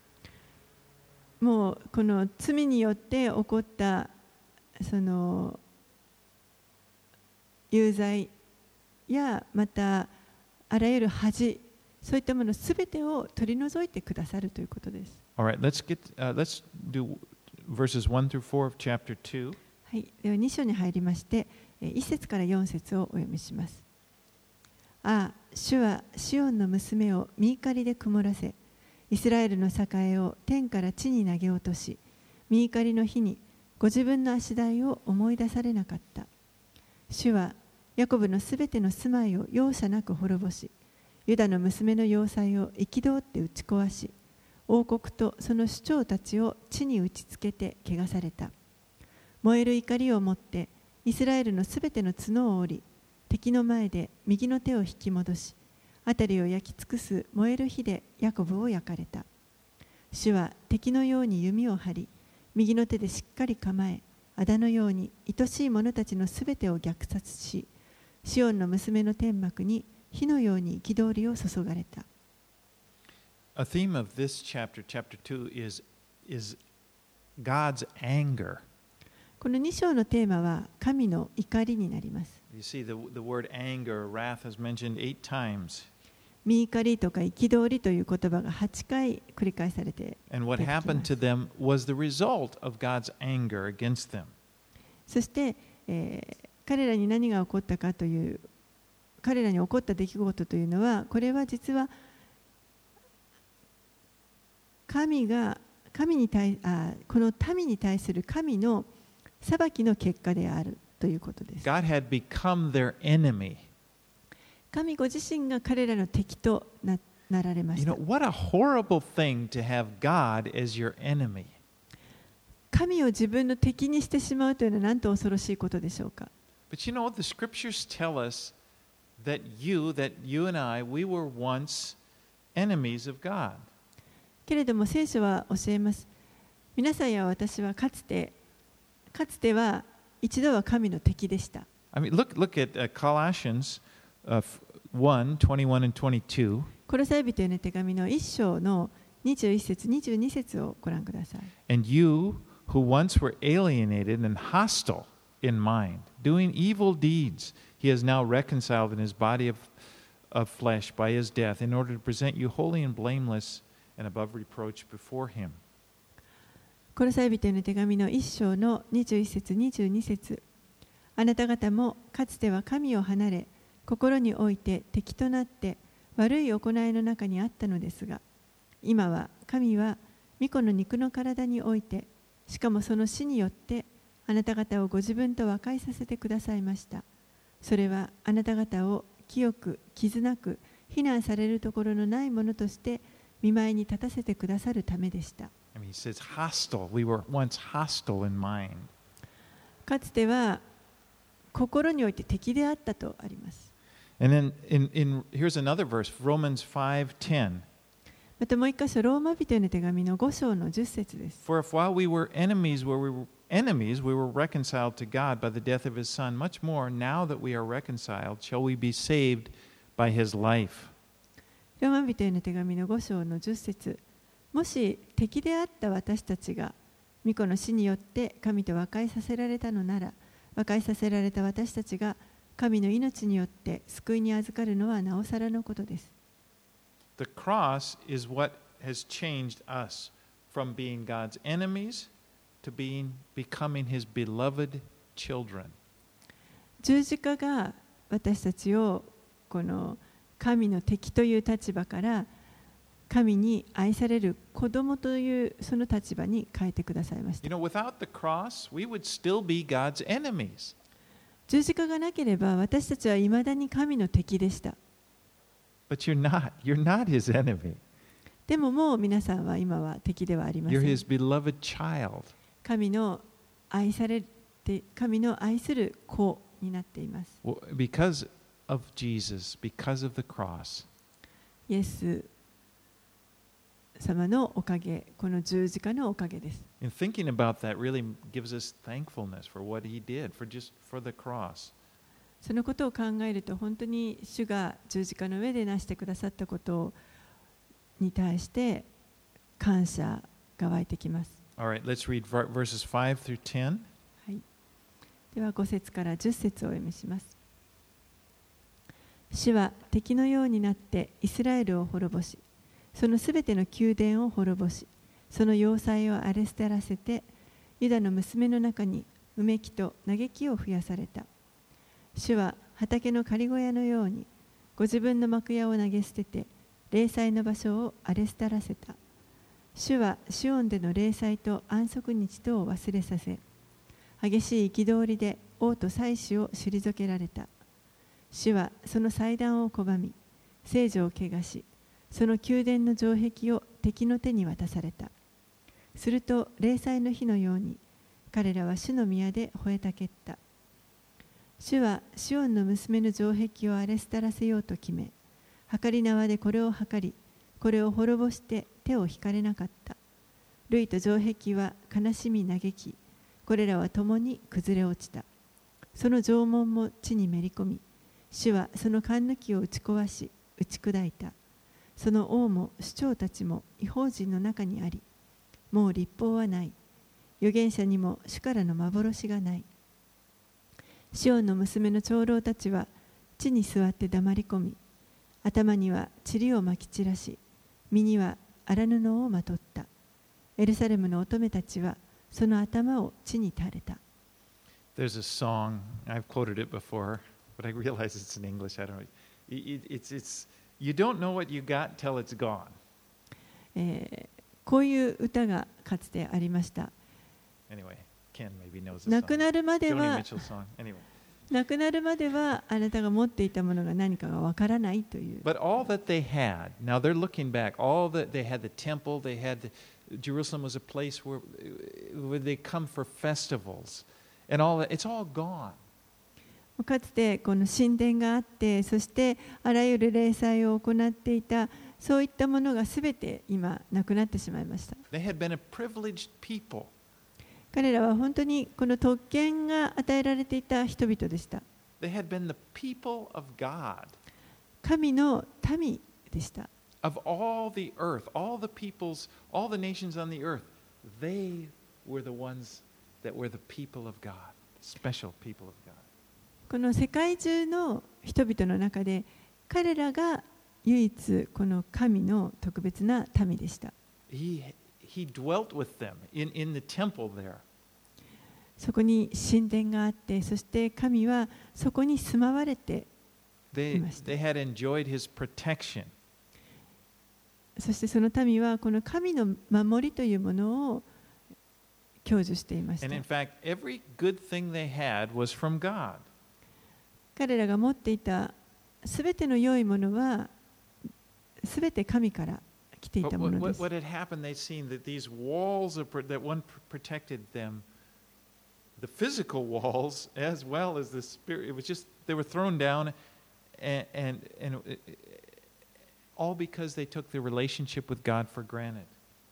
B: もうこの罪によって起こったその有罪やまたあらゆる恥、そういったものすべてを取り除いてくださるということです。
A: All right, let's do verses 1 through 4 of chapter 2.
B: はい、では2章に入りまして、1節から4節をお読みします。ああ、主はシオンの娘を御怒りで曇らせ、イスラエルの栄を天から地に投げ落とし、御怒りの日にご自分の足台を思い出されなかった。主はヤコブのすべての住まいを容赦なく滅ぼし、 ユダの娘の要塞を憤って打ち壊し、王国とその首長たちを地に打ちつけて汚された。燃える怒りをもってイスラエルのすべての角を折り、敵の前で右の手を引き戻し、辺りを焼き尽くす燃える火でヤコブを焼かれた。主は敵のように弓を張り、右の手でしっかり構え、仇のように愛しい者たちのすべてを虐殺し、シオンの娘の天幕に火のように憤りを注がれた。
A: A theme of this chapter, chapter 2, is God's anger.
B: この2章のテーマは神の怒りになります。
A: You see, the word anger, wrath, is mentioned 8 times.
B: 見怒りとか憤りという言葉が8回繰り返されて
A: And what happened to them was the result of God's anger against them.
B: そして、彼らに何が起こったかという、彼らに起こった出来事というのは、これは実はこの民に対する神の裁きの結果であるということです。
A: God had become their enemy.
B: 神ご自身が彼らの敵となられまし
A: You
B: た。
A: know, what a horrible thing to have God as your enemy.
B: 神を自分の敵にしてしまうというのは何と恐ろしいことでしょうか。
A: But you know, the scriptures tell us that you and I, we were once enemies of God.
B: けれども聖書は教えます。皆さんや私はかつては一度は神の敵でした。
A: I mean, look at Colossians 1, 21 and 22.
B: コロサイ人への手紙の1章の21節22節をご覧ください。
A: And you who once were alienated and hostile in mind, doing evil deeds, he has now reconciled in his body of flesh by his death, in order to present you holy and blameless and above reproach before him.
B: コロサイ人への手紙の1章の21節22節。あなた方もかつては神を離れ、心において敵となって悪い行いの中にあったのですが、今は神は御子の肉の体において、しかもその死によってあなた方をご自分と和解させてくださいました。それはあなた方を清く傷なく非難されるところのないものとして御前に立たせてくださるためでした。
A: I mean, he says hostile. We were once hostile in mind.
B: かつては心において敵であったとあります。
A: And then here's another verse, Romans 5:10.
B: またもう一箇所、ローマ人への手紙の5章の10節です。
A: For if while we were enemies, we were reconciled to God by the death of his son, much more now that we are reconciled, shall we be saved by his life.
B: ローマ人への手紙の5章の10節。もし敵であった私たちが御子の死によって神と和解させられたのなら、和解させられた私たちが神の命によって救いに預かるのはなおさらのことです。
A: The cross is what has changed us from being God's enemies to becoming his beloved children.
B: 十字架が私たちをこの神の敵という立場から神に愛される子供というその立場に変えてくださいました。
A: You know, without the cross, we would still be God's enemies.
B: 十字架がなければ私たちはいまだに神の敵でした。
A: But you're not. You're not his enemy.
B: でももう皆さんは今は敵ではありませ
A: You're
B: ん。
A: his beloved child.
B: 神の愛する子になっています。
A: Because of Jesus, because of the cross.
B: イエス様のおかげ、この十字架のおかげです。
A: And thinking about that really gives us thankfulness for what he did, for the cross.
B: そのことを考えると本当に主が十字架の上でなしてくださったことに対して感謝が湧いてきます。
A: All right, let's read verses 5 through 10.
B: はい、では5節から10節をお読みします。主は敵のようになってイスラエルを滅ぼし、そのすべての宮殿を滅ぼし、その要塞を荒れ捨てらせて、ユダの娘の中にうめきと嘆きを増やされた。主は畑の刈り小屋のように、ご自分の幕屋を投げ捨てて、霊祭の場所を荒れ捨てらせた。主はシオンでの霊祭と安息日とを忘れさせ、激しい憤りで王と祭司を退けられた。主はその祭壇を拒み、 聖女を汚し、その宮殿の城壁を敵の手に渡された。すると例祭の日のように彼らは主の宮で吠えたけった。主はシオンの娘の城壁を荒れ廃らせようと決め、測り縄でこれを測り、これを滅ぼして手を引かれなかった。類と城壁は悲しみ嘆き、これらは共に崩れ落ちた。その城門も地にめり込み、主はその栓抜きを打ち壊し、打ち砕いた。その王も首長たちも異邦人の中にあり、もう立法はない。預言者にも主からの幻がない。シオンの娘の長老たちは地に座って黙り込み、頭には塵をまき散らし、身には荒布をまとった。エルサレムの乙女たちはその頭を地に垂れた。
A: There's a song, I've quoted it before, but I realize it's in English. I don't know. It's You don't know what you got till it's gone.
B: こういう歌がかつてありました。
A: Anyway, Ken maybe knows the
B: 亡く
A: song.
B: なるまで
A: Joni
B: は
A: Mitchell song. Anyway.
B: 亡くなるまではあなたが持っていたものが何かがわからないという。
A: But all that they had, now they're looking back, all that they had the temple, they had Jerusalem was a place where they come for festivals and all that, it's all gone.
B: かつてこの神殿があって、そしてあらゆる礼祭を行っていた、そういったものがすべて今なくなってしまいました。
A: They had been a privileged people.
B: 彼らは本当にこの特権が与えられていた人々でした。
A: They had been the people of God.
B: 神の民でした。
A: Of all the earth, all the peoples, all the nations on the earth, they were the ones that were the people of God, special people of God.
B: この世界中の人々の中で彼らが唯一この神の特別な民でした。
A: He dwelt with them in the temple there.
B: そこに神殿があって、そして神はそこに住まわれていました。
A: They had enjoyed his protection.
B: そしてその民はこの神の守りというものを享受していました。
A: And in fact, every good thing they had was from God.
B: 彼らが持っていたすべての良いものはすべて神から来ていたものです。
A: What had happened, they'd seen that these walls that one protected them, the physical walls as well as the spirit, it was just, they were thrown down and all because they took their relationship with God for granted.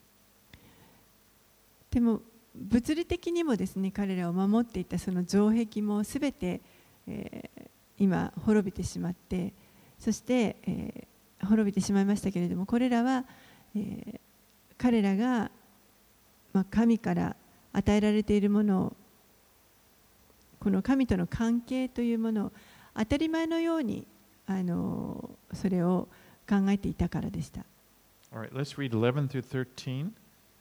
B: でも物理的にもですね、彼らを守っていたその城壁もすべて、今滅びてしまって、そして、滅びてしまいましたけれども、これらは、彼らが、神から与えられているものを、この神との関係というものを当たり前のようにそれを考えていたからでした。
A: All right, let's read 11 through 13.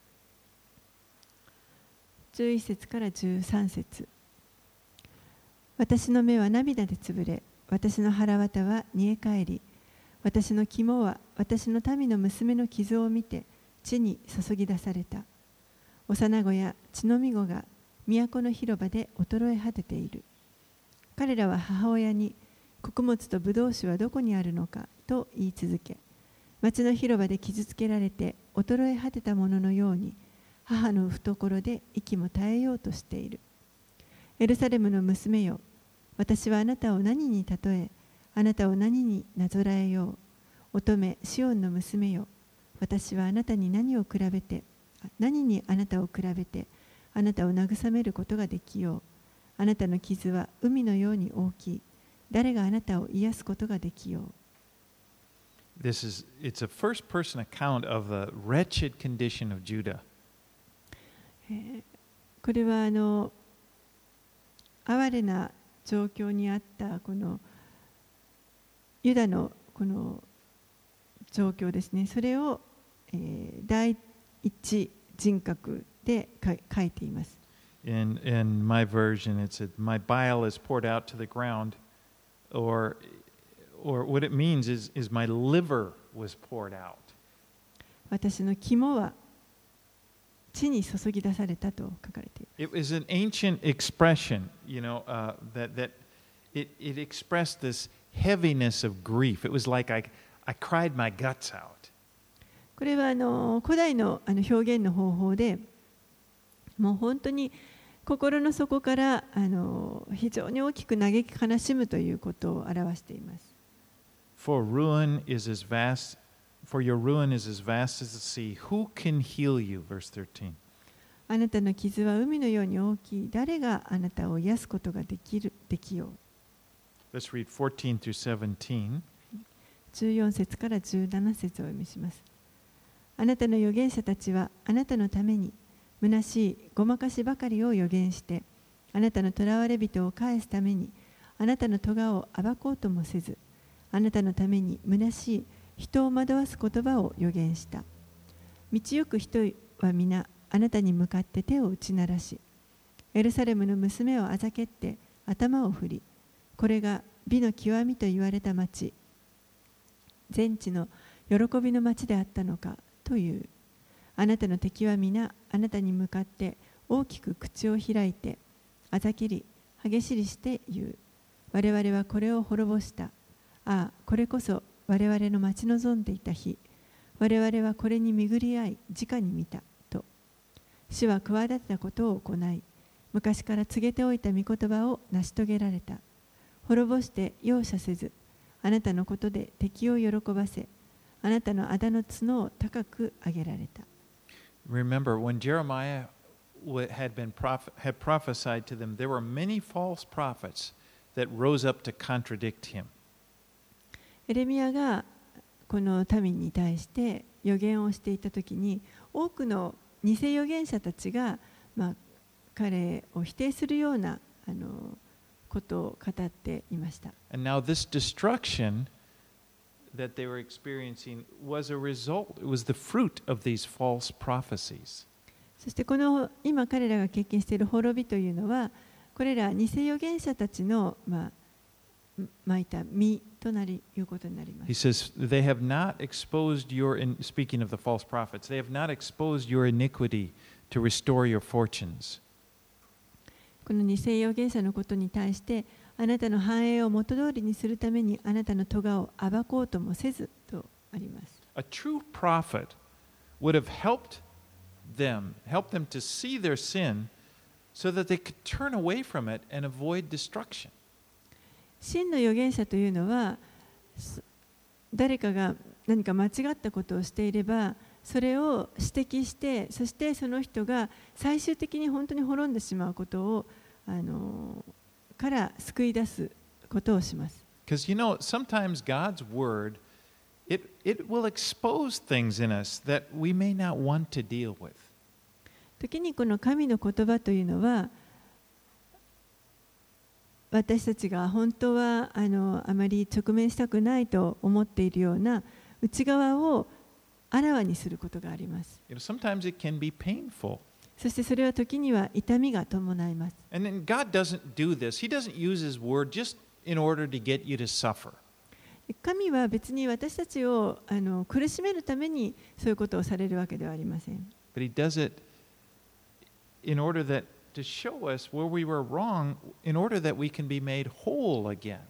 B: 11節から13節。私の目は涙でつぶれ、私の腹渡は煮え返り、私の肝は私の民の娘の傷を見て地に注ぎ出された。幼子や血のみ子が都の広場で衰え果てている。彼らは母親に、穀物とブドウ酒はどこにあるのかと言い続け、町の広場で傷つけられて衰え果てたもののように、母の懐で息も絶えようとしている。エルサレムの娘よ、私はあなたを何に例え、あなたを何になぞらえよう。乙女シオンの娘よ、私はあなたに何にあなたを比べて、あなたを慰めることができよう。あなたの傷は海のように大きい。誰があなたを癒すことができよう。
A: It's a first-person account of the wretched condition of Judah.
B: これは哀れな状況にあったこのユダのこの状況ですね。それを、第一人格で書いています。
A: In my version, it said, "My bile is poured out to the ground," or what it means is my liver was poured out.
B: 私の肝は地に注ぎ出されたと書かれている。
A: It was an ancient expression, that it expressed this heaviness of grief. It was like I cried my guts out.
B: これは古代の表現の方法で、もう本当に心の底から非常に大きく嘆き悲しむということを表しています。
A: For your ruin is as vast as the sea. Who can heal you? Verse 13.
B: あなたの傷は海のように大きい。誰があなたを癒すことができよう。
A: Let's read 14 through 17.
B: 14節から17節をお読みします。あなたの預言者たちはあなたのために虚しいごまかしばかりを預言して、あなたの囚われ人を返すためにあなたの咎を暴こうともせず、あなたのために虚しい人を惑わす言葉を預言した。道行く人は皆あなたに向かって手を打ち鳴らし、エルサレムの娘をあざけって頭を振り、これが美の極みと言われた町、全地の喜びの町であったのかという。あなたの敵は皆あなたに向かって大きく口を開いてあざけり激しりして言う。我々はこれを滅ぼした。ああ、これこそ我々の待ち望んでいた日。我々はこれに巡り合い直に見たと。主は企てたことを行い、昔から告げておいた御言葉を成し遂げられた。滅ぼして容赦せず、あなたのことで敵を喜ばせ、あなたのあだの角を高く上げられた。
A: Remember, when Jeremiah had prophesied to them, there were many false prophets that rose up to contradict him.
B: エレミヤがこの民に対して預言をしていたときに、多くの偽預言者たちが、彼を否定するようなことを語っていました。
A: And now this destruction that they were experiencing was a result, it was the fruit of these false prophecies.
B: そしてこの今彼らが経験している滅びというのは、これら偽預言者たちのまいた実となりいうことになります。
A: He says, they have not exposed speaking of the false prophets, they have not exposed your iniquity to restore your fortunes.
B: この偽預言者のことに対して、あなたの繁栄を元通りにするためにあなたの咎を暴こうともせずとあります。
A: A true prophet would have helped them to see their sin so that they could turn away from it and avoid destruction.
B: 真の預言者というのは、誰かが何か間違ったことをしていれば、それを指摘して、そしてその人が最終的に本当に滅んでしまうことをから救い出すことをします。
A: Because sometimes God's word, it will expose things in us that we may not want to deal with.
B: 時にこの神の言葉というのは、私たちが本当はあまり直面したくないと思っているような内側をあらわにすることがあります。
A: Sometimes it can be painful.
B: そしてそれは時には痛みが伴います。
A: And then God doesn't do this. He doesn't use His word just in order to get you to suffer.
B: 神は別に私たちを苦しめるためにそういうことをされるわけではありません。
A: But He does it in order to show us where we were wrong, in order that we can be made whole again.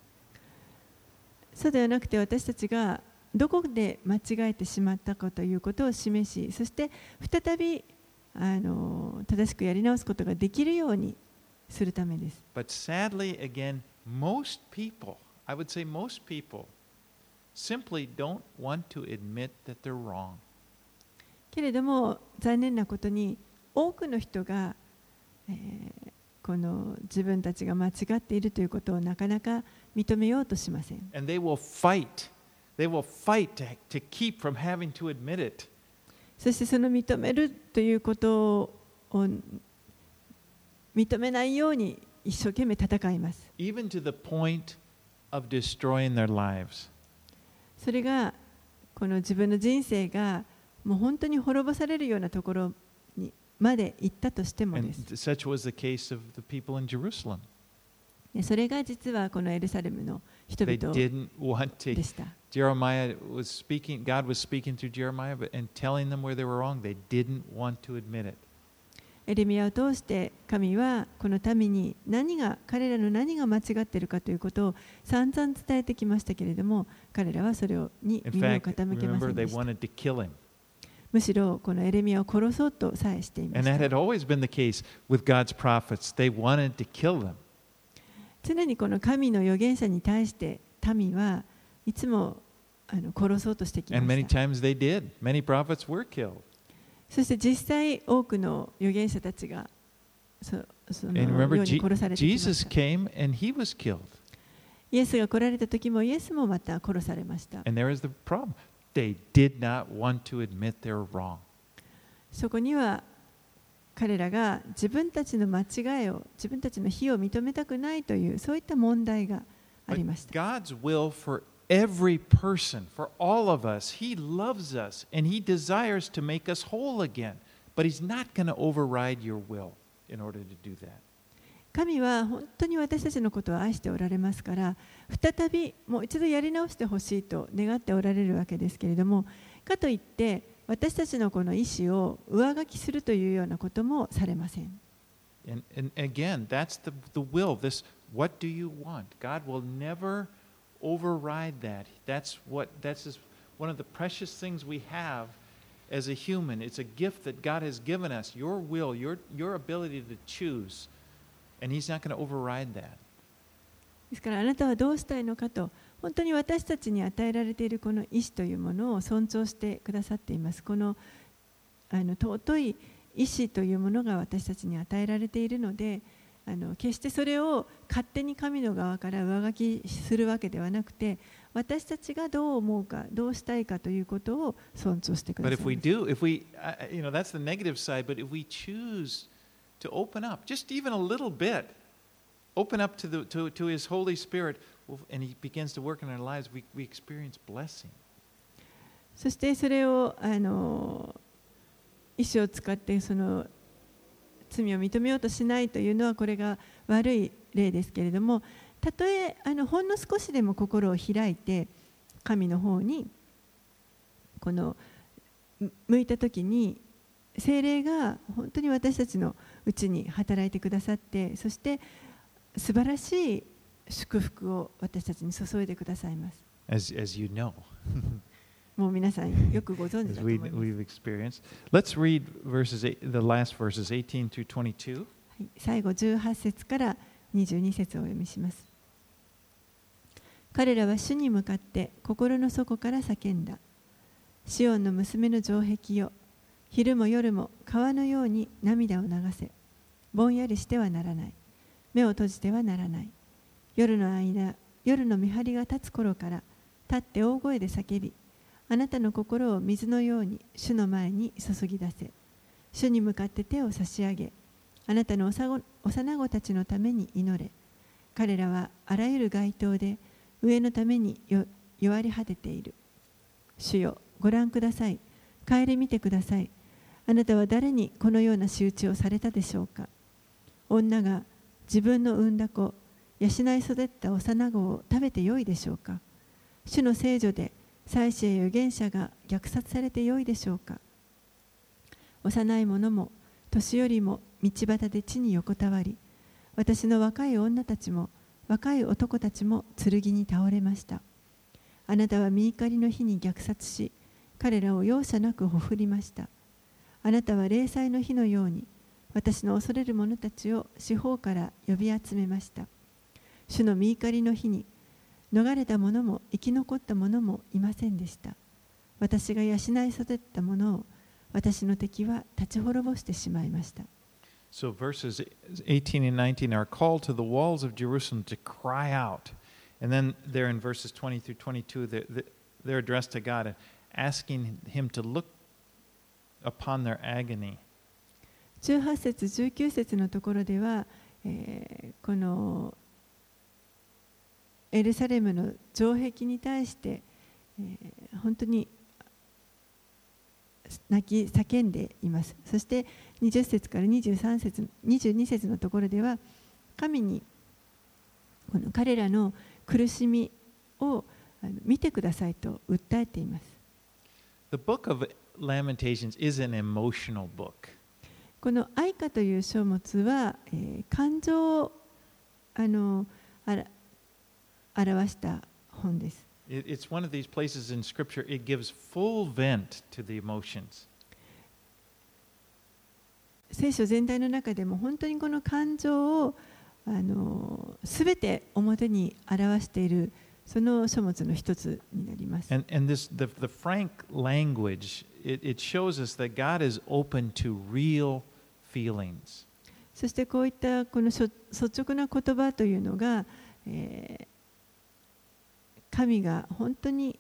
B: そうではなくて、私たちがどこで間違えてしまったかということを示し、そして再び正しくやり直すことができるようにするためです。
A: But sadly, again, most people, I would say most people, simply don't want to admit that they're wrong.
B: けれども残念なことに多くの人が、この自分たちが間違っているということをなかなか認めようとしません。
A: And they will fight. They will fight to keep from having to admit it.
B: そしてその認めるということを認めないように一生懸命戦います。
A: Even to the point of destroying their lives.
B: それがこの自分の人生がもう本当に滅ぼされるようなところにまで行ったとしてもで
A: And
B: す。
A: such was the case of the people in Jerusalem.
B: それが実はこのエルサレムの人
A: They
B: 々
A: didn't want to.
B: でした。
A: God was speaking through Jeremiah and telling them where they were wrong. They didn't want to admit it.
B: エレミヤを通して神はこの民に彼らの何が間違っているかということを散々伝えてきましたけれども、彼らはそれに耳を傾けませんでした。むしろこのエレミヤを殺そうとさえしていました。常にこの神の預言者に対して民はいつも殺そうとしてきました。そして実際多くの預言者たちがそのように殺されてきました。イエスが来られた時もイエスもまた殺されました。そこには彼らが自分たちの間違いを、自分たちの非を認めたくないというそういった問題がありました。
A: God's will for every person, for all of us, He loves us and He desires to make us whole again, but He's not going to override your will in order to do that.
B: 神は本当に私たちのことを愛しておられますから、再びもう一度やり直してほしいと願っておられるわけですけれども、かといって私たちのこの意思を上書きするというようなこともされません。
A: And again, that's the will. This, what do you want? God will never override that. That's one of the precious things we have as a human. It's a gift that God has given us. Your will, your ability to choose, and He's not going to override that.
B: ですからあなたはどうしたいのかと、本当に私たちに与えられているこの意志というものを尊重してくださっています。この尊い意志というものが私たちに与えられているので、決してそれを勝手に神の側から上書きするわけではなくて、私たちがどう思うか、どうしたいかということを尊重してくださいます。
A: But if we, that's the negative side. But if we choose to open up, just even a little bit, open up to His Holy Spirit, and He begins to work in our lives, we experience blessing.
B: そしてそれを意志を使ってその罪を認めようとしないというのはこれが悪い例ですけれども、たとえほんの少しでも心を開いて神の方にこの向いたときに、聖霊が本当に私たちのうちに働いてくださって、そして素晴らしい祝福を私たちに注いでくださいます。
A: As you know.
B: もう皆さんよくご存知だと思います。
A: We've experienced. Let's read the last verses 18 through 22.
B: 最後18節から22節をお読みします。彼らは主に向かって心の底から叫んだ。シオンの娘の城壁よ、昼も夜も川のように涙を流せ。ぼんやりしてはならない。目を閉じてはならない。夜の間、夜の見張りが立つ頃から立って大声で叫び、あなたの心を水のように主の前に注ぎ出せ。主に向かって手を差し上げ、あなたの幼子たちのために祈れ。彼らはあらゆる街灯で上のために弱り果てている。主よ、ご覧ください。顧みてください。あなたは誰にこのような仕打ちをされたでしょうか。女が自分の産んだ子、養い育った幼子を食べてよいでしょうか。主の聖女で祭司や預言者が虐殺されてよいでしょうか。幼い者も年寄りも道端で地に横たわり、私の若い女たちも若い男たちも剣に倒れました。あなたは御怒りの日に虐殺し、彼らを容赦なくほふりました。あなたは例祭の日のように私の恐れる者たちを四方から呼び集めました。主の御怒りの日に逃れた者も生き残った者もいませんでした。私が養い育った者を私の敵は立ち滅ぼしてしまいました。
A: So verses 18 and 19 are called to the walls of Jerusalem to cry out. And then there in verses 20 through 22, they're addressed to God and asking Him to look upon their agony.
B: 18節、19節のところでは、このエルサレムの城壁に対して、本当に泣き叫んでいます。そして20節から23節、22節のところでは、神にこの彼らの苦しみを見てくださいと訴えています。
A: The book of Lamentations is an emotional book.
B: この愛歌という書物は、感情を表した本です。
A: It's one of these places in Scripture, it gives full vent to the emotions.
B: 聖書全体の中でも本当にこの感情をすべて表に表しているその書物の一つになります。
A: And the frank language, it shows us that God is open to real feelings.
B: そしてこういったこの率直な言葉というのが、神が本当に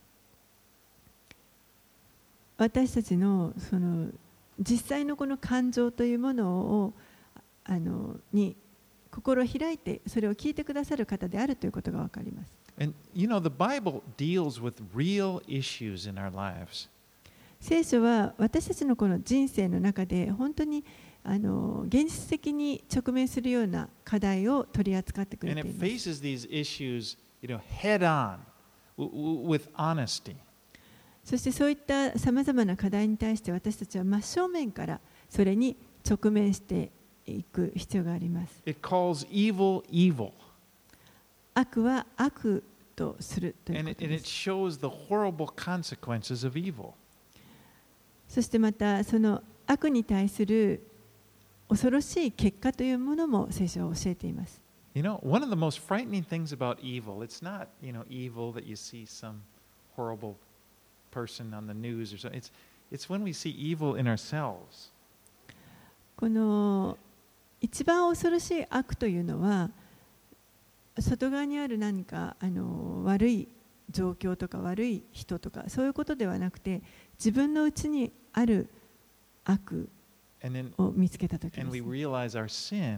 B: 私たちのその実際のこの感情というものをに心を開いてそれを聞いてくださる方であるということがわかります。
A: And you know, the Bible deals with real issues in our lives.
B: 聖書は私たちのこの人生の中で本当に現実的に直面するような課題を取り扱ってくれ
A: And
B: て
A: it
B: います。
A: faces these issues, head on, with honesty.
B: そしてそういったさまざまな課題に対して私たちは真正面からそれに直面していく必要があります。
A: It calls evil evil.
B: 悪は悪とするという
A: And
B: こと
A: it
B: です。
A: shows the horrible consequences of evil.
B: そしてまたその悪に対する恐ろしい結果というものも聖書は教えています。
A: One of the most frightening things about evil, it's not, evil that you see some horrible person on the news or something. It's when we see evil in ourselves.
B: この一番恐ろしい悪というのは外側にある何か悪い状況とか悪い人とかそういうことではなくて自分の内にある悪
A: And then
B: を見つけたときで
A: and
B: す
A: we realize our sin,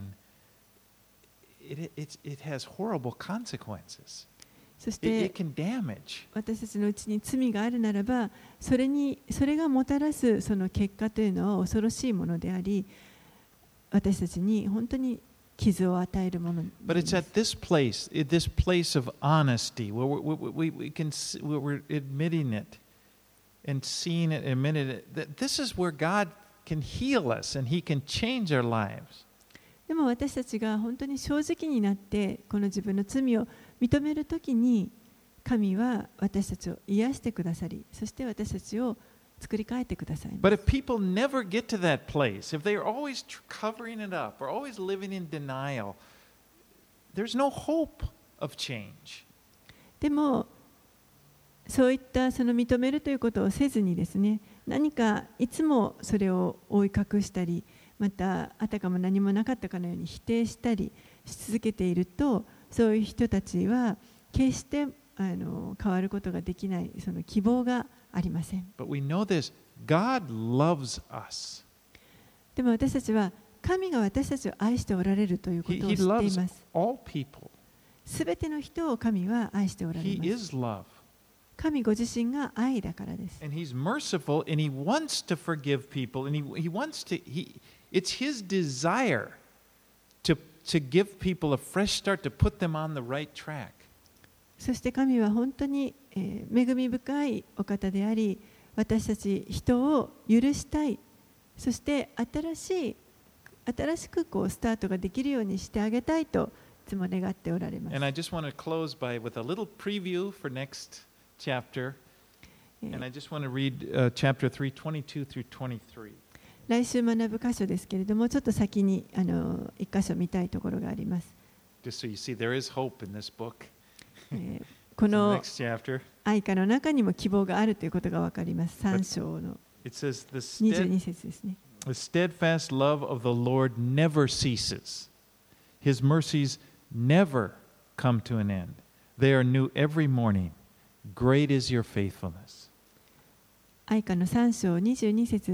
A: it has horrible consequences.
B: そし
A: It
B: て
A: can damage.
B: 私たちのうちに罪があるならばそれがもたらすその結果というのは恐ろしいものであり私たちに本当に傷を与えるものにな
A: But
B: り
A: it's
B: ま
A: at
B: す。
A: this place of honesty where we can where we're admitting it and seeing it, admitting it. That this is where God can heal us and He can change our lives.
B: でも私たちが本当に正直になってこの自分の罪を認めるときに神は私たちを癒してくださりそして私たちを作り変えてくださいます。
A: But if people never get to that place, if they are always covering it up or always living in denial, there's no hope of change.
B: でもそういったその認めるということをせずにですね何かいつもそれを覆い隠したりまたあたかも何もなかったかのように否定したりし続けているとそういう人たちは決して変わることができないその希望がありません。
A: But we know this, God loves us.
B: でも私たちは神が私たちを愛しておられるということを
A: He
B: 知ってい
A: loves
B: ます。
A: all people.
B: すべての人を神は愛しておられ
A: He
B: ます。
A: is love.
B: 神ご自身が愛だからです。
A: And He's merciful and He wants to forgive people. And He wants to, it's His desire to give people a fresh start, to put them on the right track.
B: そして神は本当に恵み深いお方であり、私たち人を許したい、そして新しくこうスタートができるようにしてあげたいといつも願っておられます。
A: And I just want to close with a little preview for next chapter. And I just want to read chapter 3, 22 through 23.
B: 来週学ぶ箇所ですけれども、ちょっと先に一箇所見たいところがあります。
A: Just so you see, there is hope in this book.
B: こ
A: The
B: の
A: next chapter.
B: 愛歌の中にも希望があるということが分かります。3章の
A: It says,
B: 22節ですね。
A: The steadfast love of the Lord never ceases. His mercies never come to an end. They are new every morning. Great is your faithfulness.
B: 愛歌の3章22節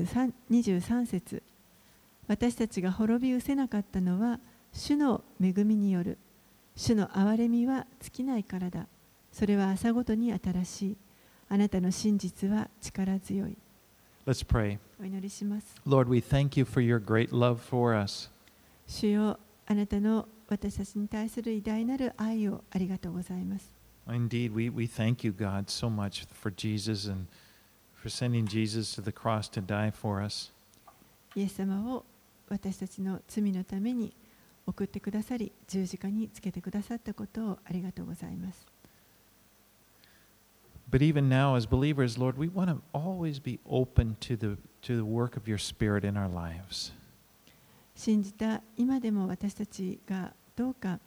B: 23節私たちが滅び失せなかったのは主の恵みによる。主の憐れみは尽きないからだ。それは朝ごとに新しい。あなたの真実は力強い。
A: Let's pray.
B: お祈りします。
A: Lord, we thank you for your great love for us.
B: 主よ、あなたの私たちに対する偉大なる愛をありがとうございます。
A: Indeed, we thank you, God, so much for Jesus and for sending Jesus to the cross to die for us.
B: イエス様を私たちの罪のために送ってくださり、十字架につけてくださったことをありがとうございます。
A: But even now, as believers, Lord, we want to always be open to the work of your Spirit in our lives.
B: 信じた今でも私たちがどうか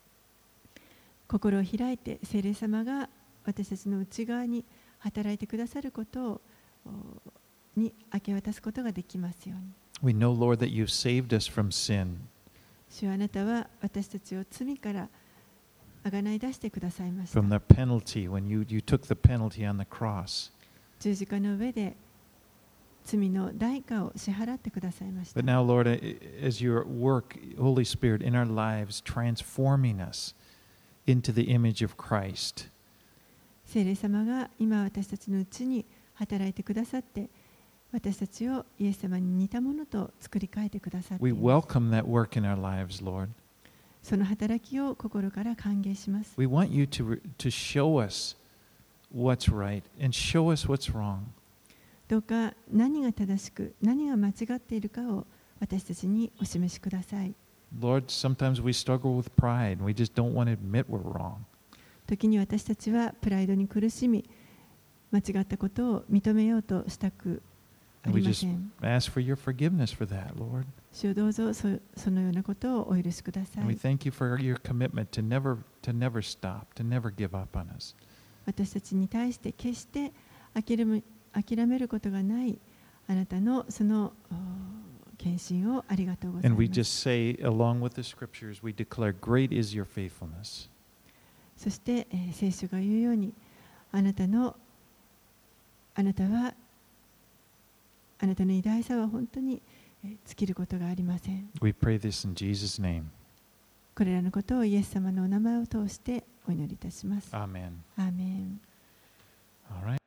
B: 心を開いて、聖霊様が私たちの内側に働いてくださることをに明け渡すことができますように。
A: We know, Lord, that you saved us from sin.
B: 主はあなたは私たちを罪からあがない出してくださいました。
A: From the penalty, when you took the penalty on the cross.
B: 十字架の上で罪の代価を支払ってくださいました。
A: But now, Lord, as your work, Holy Spirit, in our lives, transforming us into the image of Christ.
B: 聖霊様が今私たちのうちに働いてくださって、私たちをイエス様に似たものと作り変えてくださってい
A: We
B: ます。
A: welcome that work in our lives, Lord.
B: その働きを心から歓迎します。
A: We want you to show us what's right and show us what's wrong.
B: どうか何が正しく、何が間違っているかを私たちにお示しください。
A: Lord, sometimes we struggle with pride and we just don't want to admit we're wrong.
B: 時に私たちはプライドに苦しみ、間違ったことを認めようとしたくあ
A: And
B: り
A: we
B: ま
A: just
B: せん。
A: ask for your forgiveness for that, Lord.
B: 主をどうぞそのようなことをお許しくださ
A: And we
B: い。
A: thank you for your commitment to never stop, to never give up on us.
B: 私たちに対して決して諦めることがないあなたのその献身をありがとうござい
A: And
B: ま
A: we
B: す。
A: just say, along with the scriptures, we declare, great is your faithfulness.
B: そして、聖書が言うように、あなたの偉大さは本当に尽きることがありません。
A: We pray this in Jesus' name.
B: これらのことをイエス様のお名前を通してお祈りいたします。
A: Amen.
B: アーメン。
A: All right.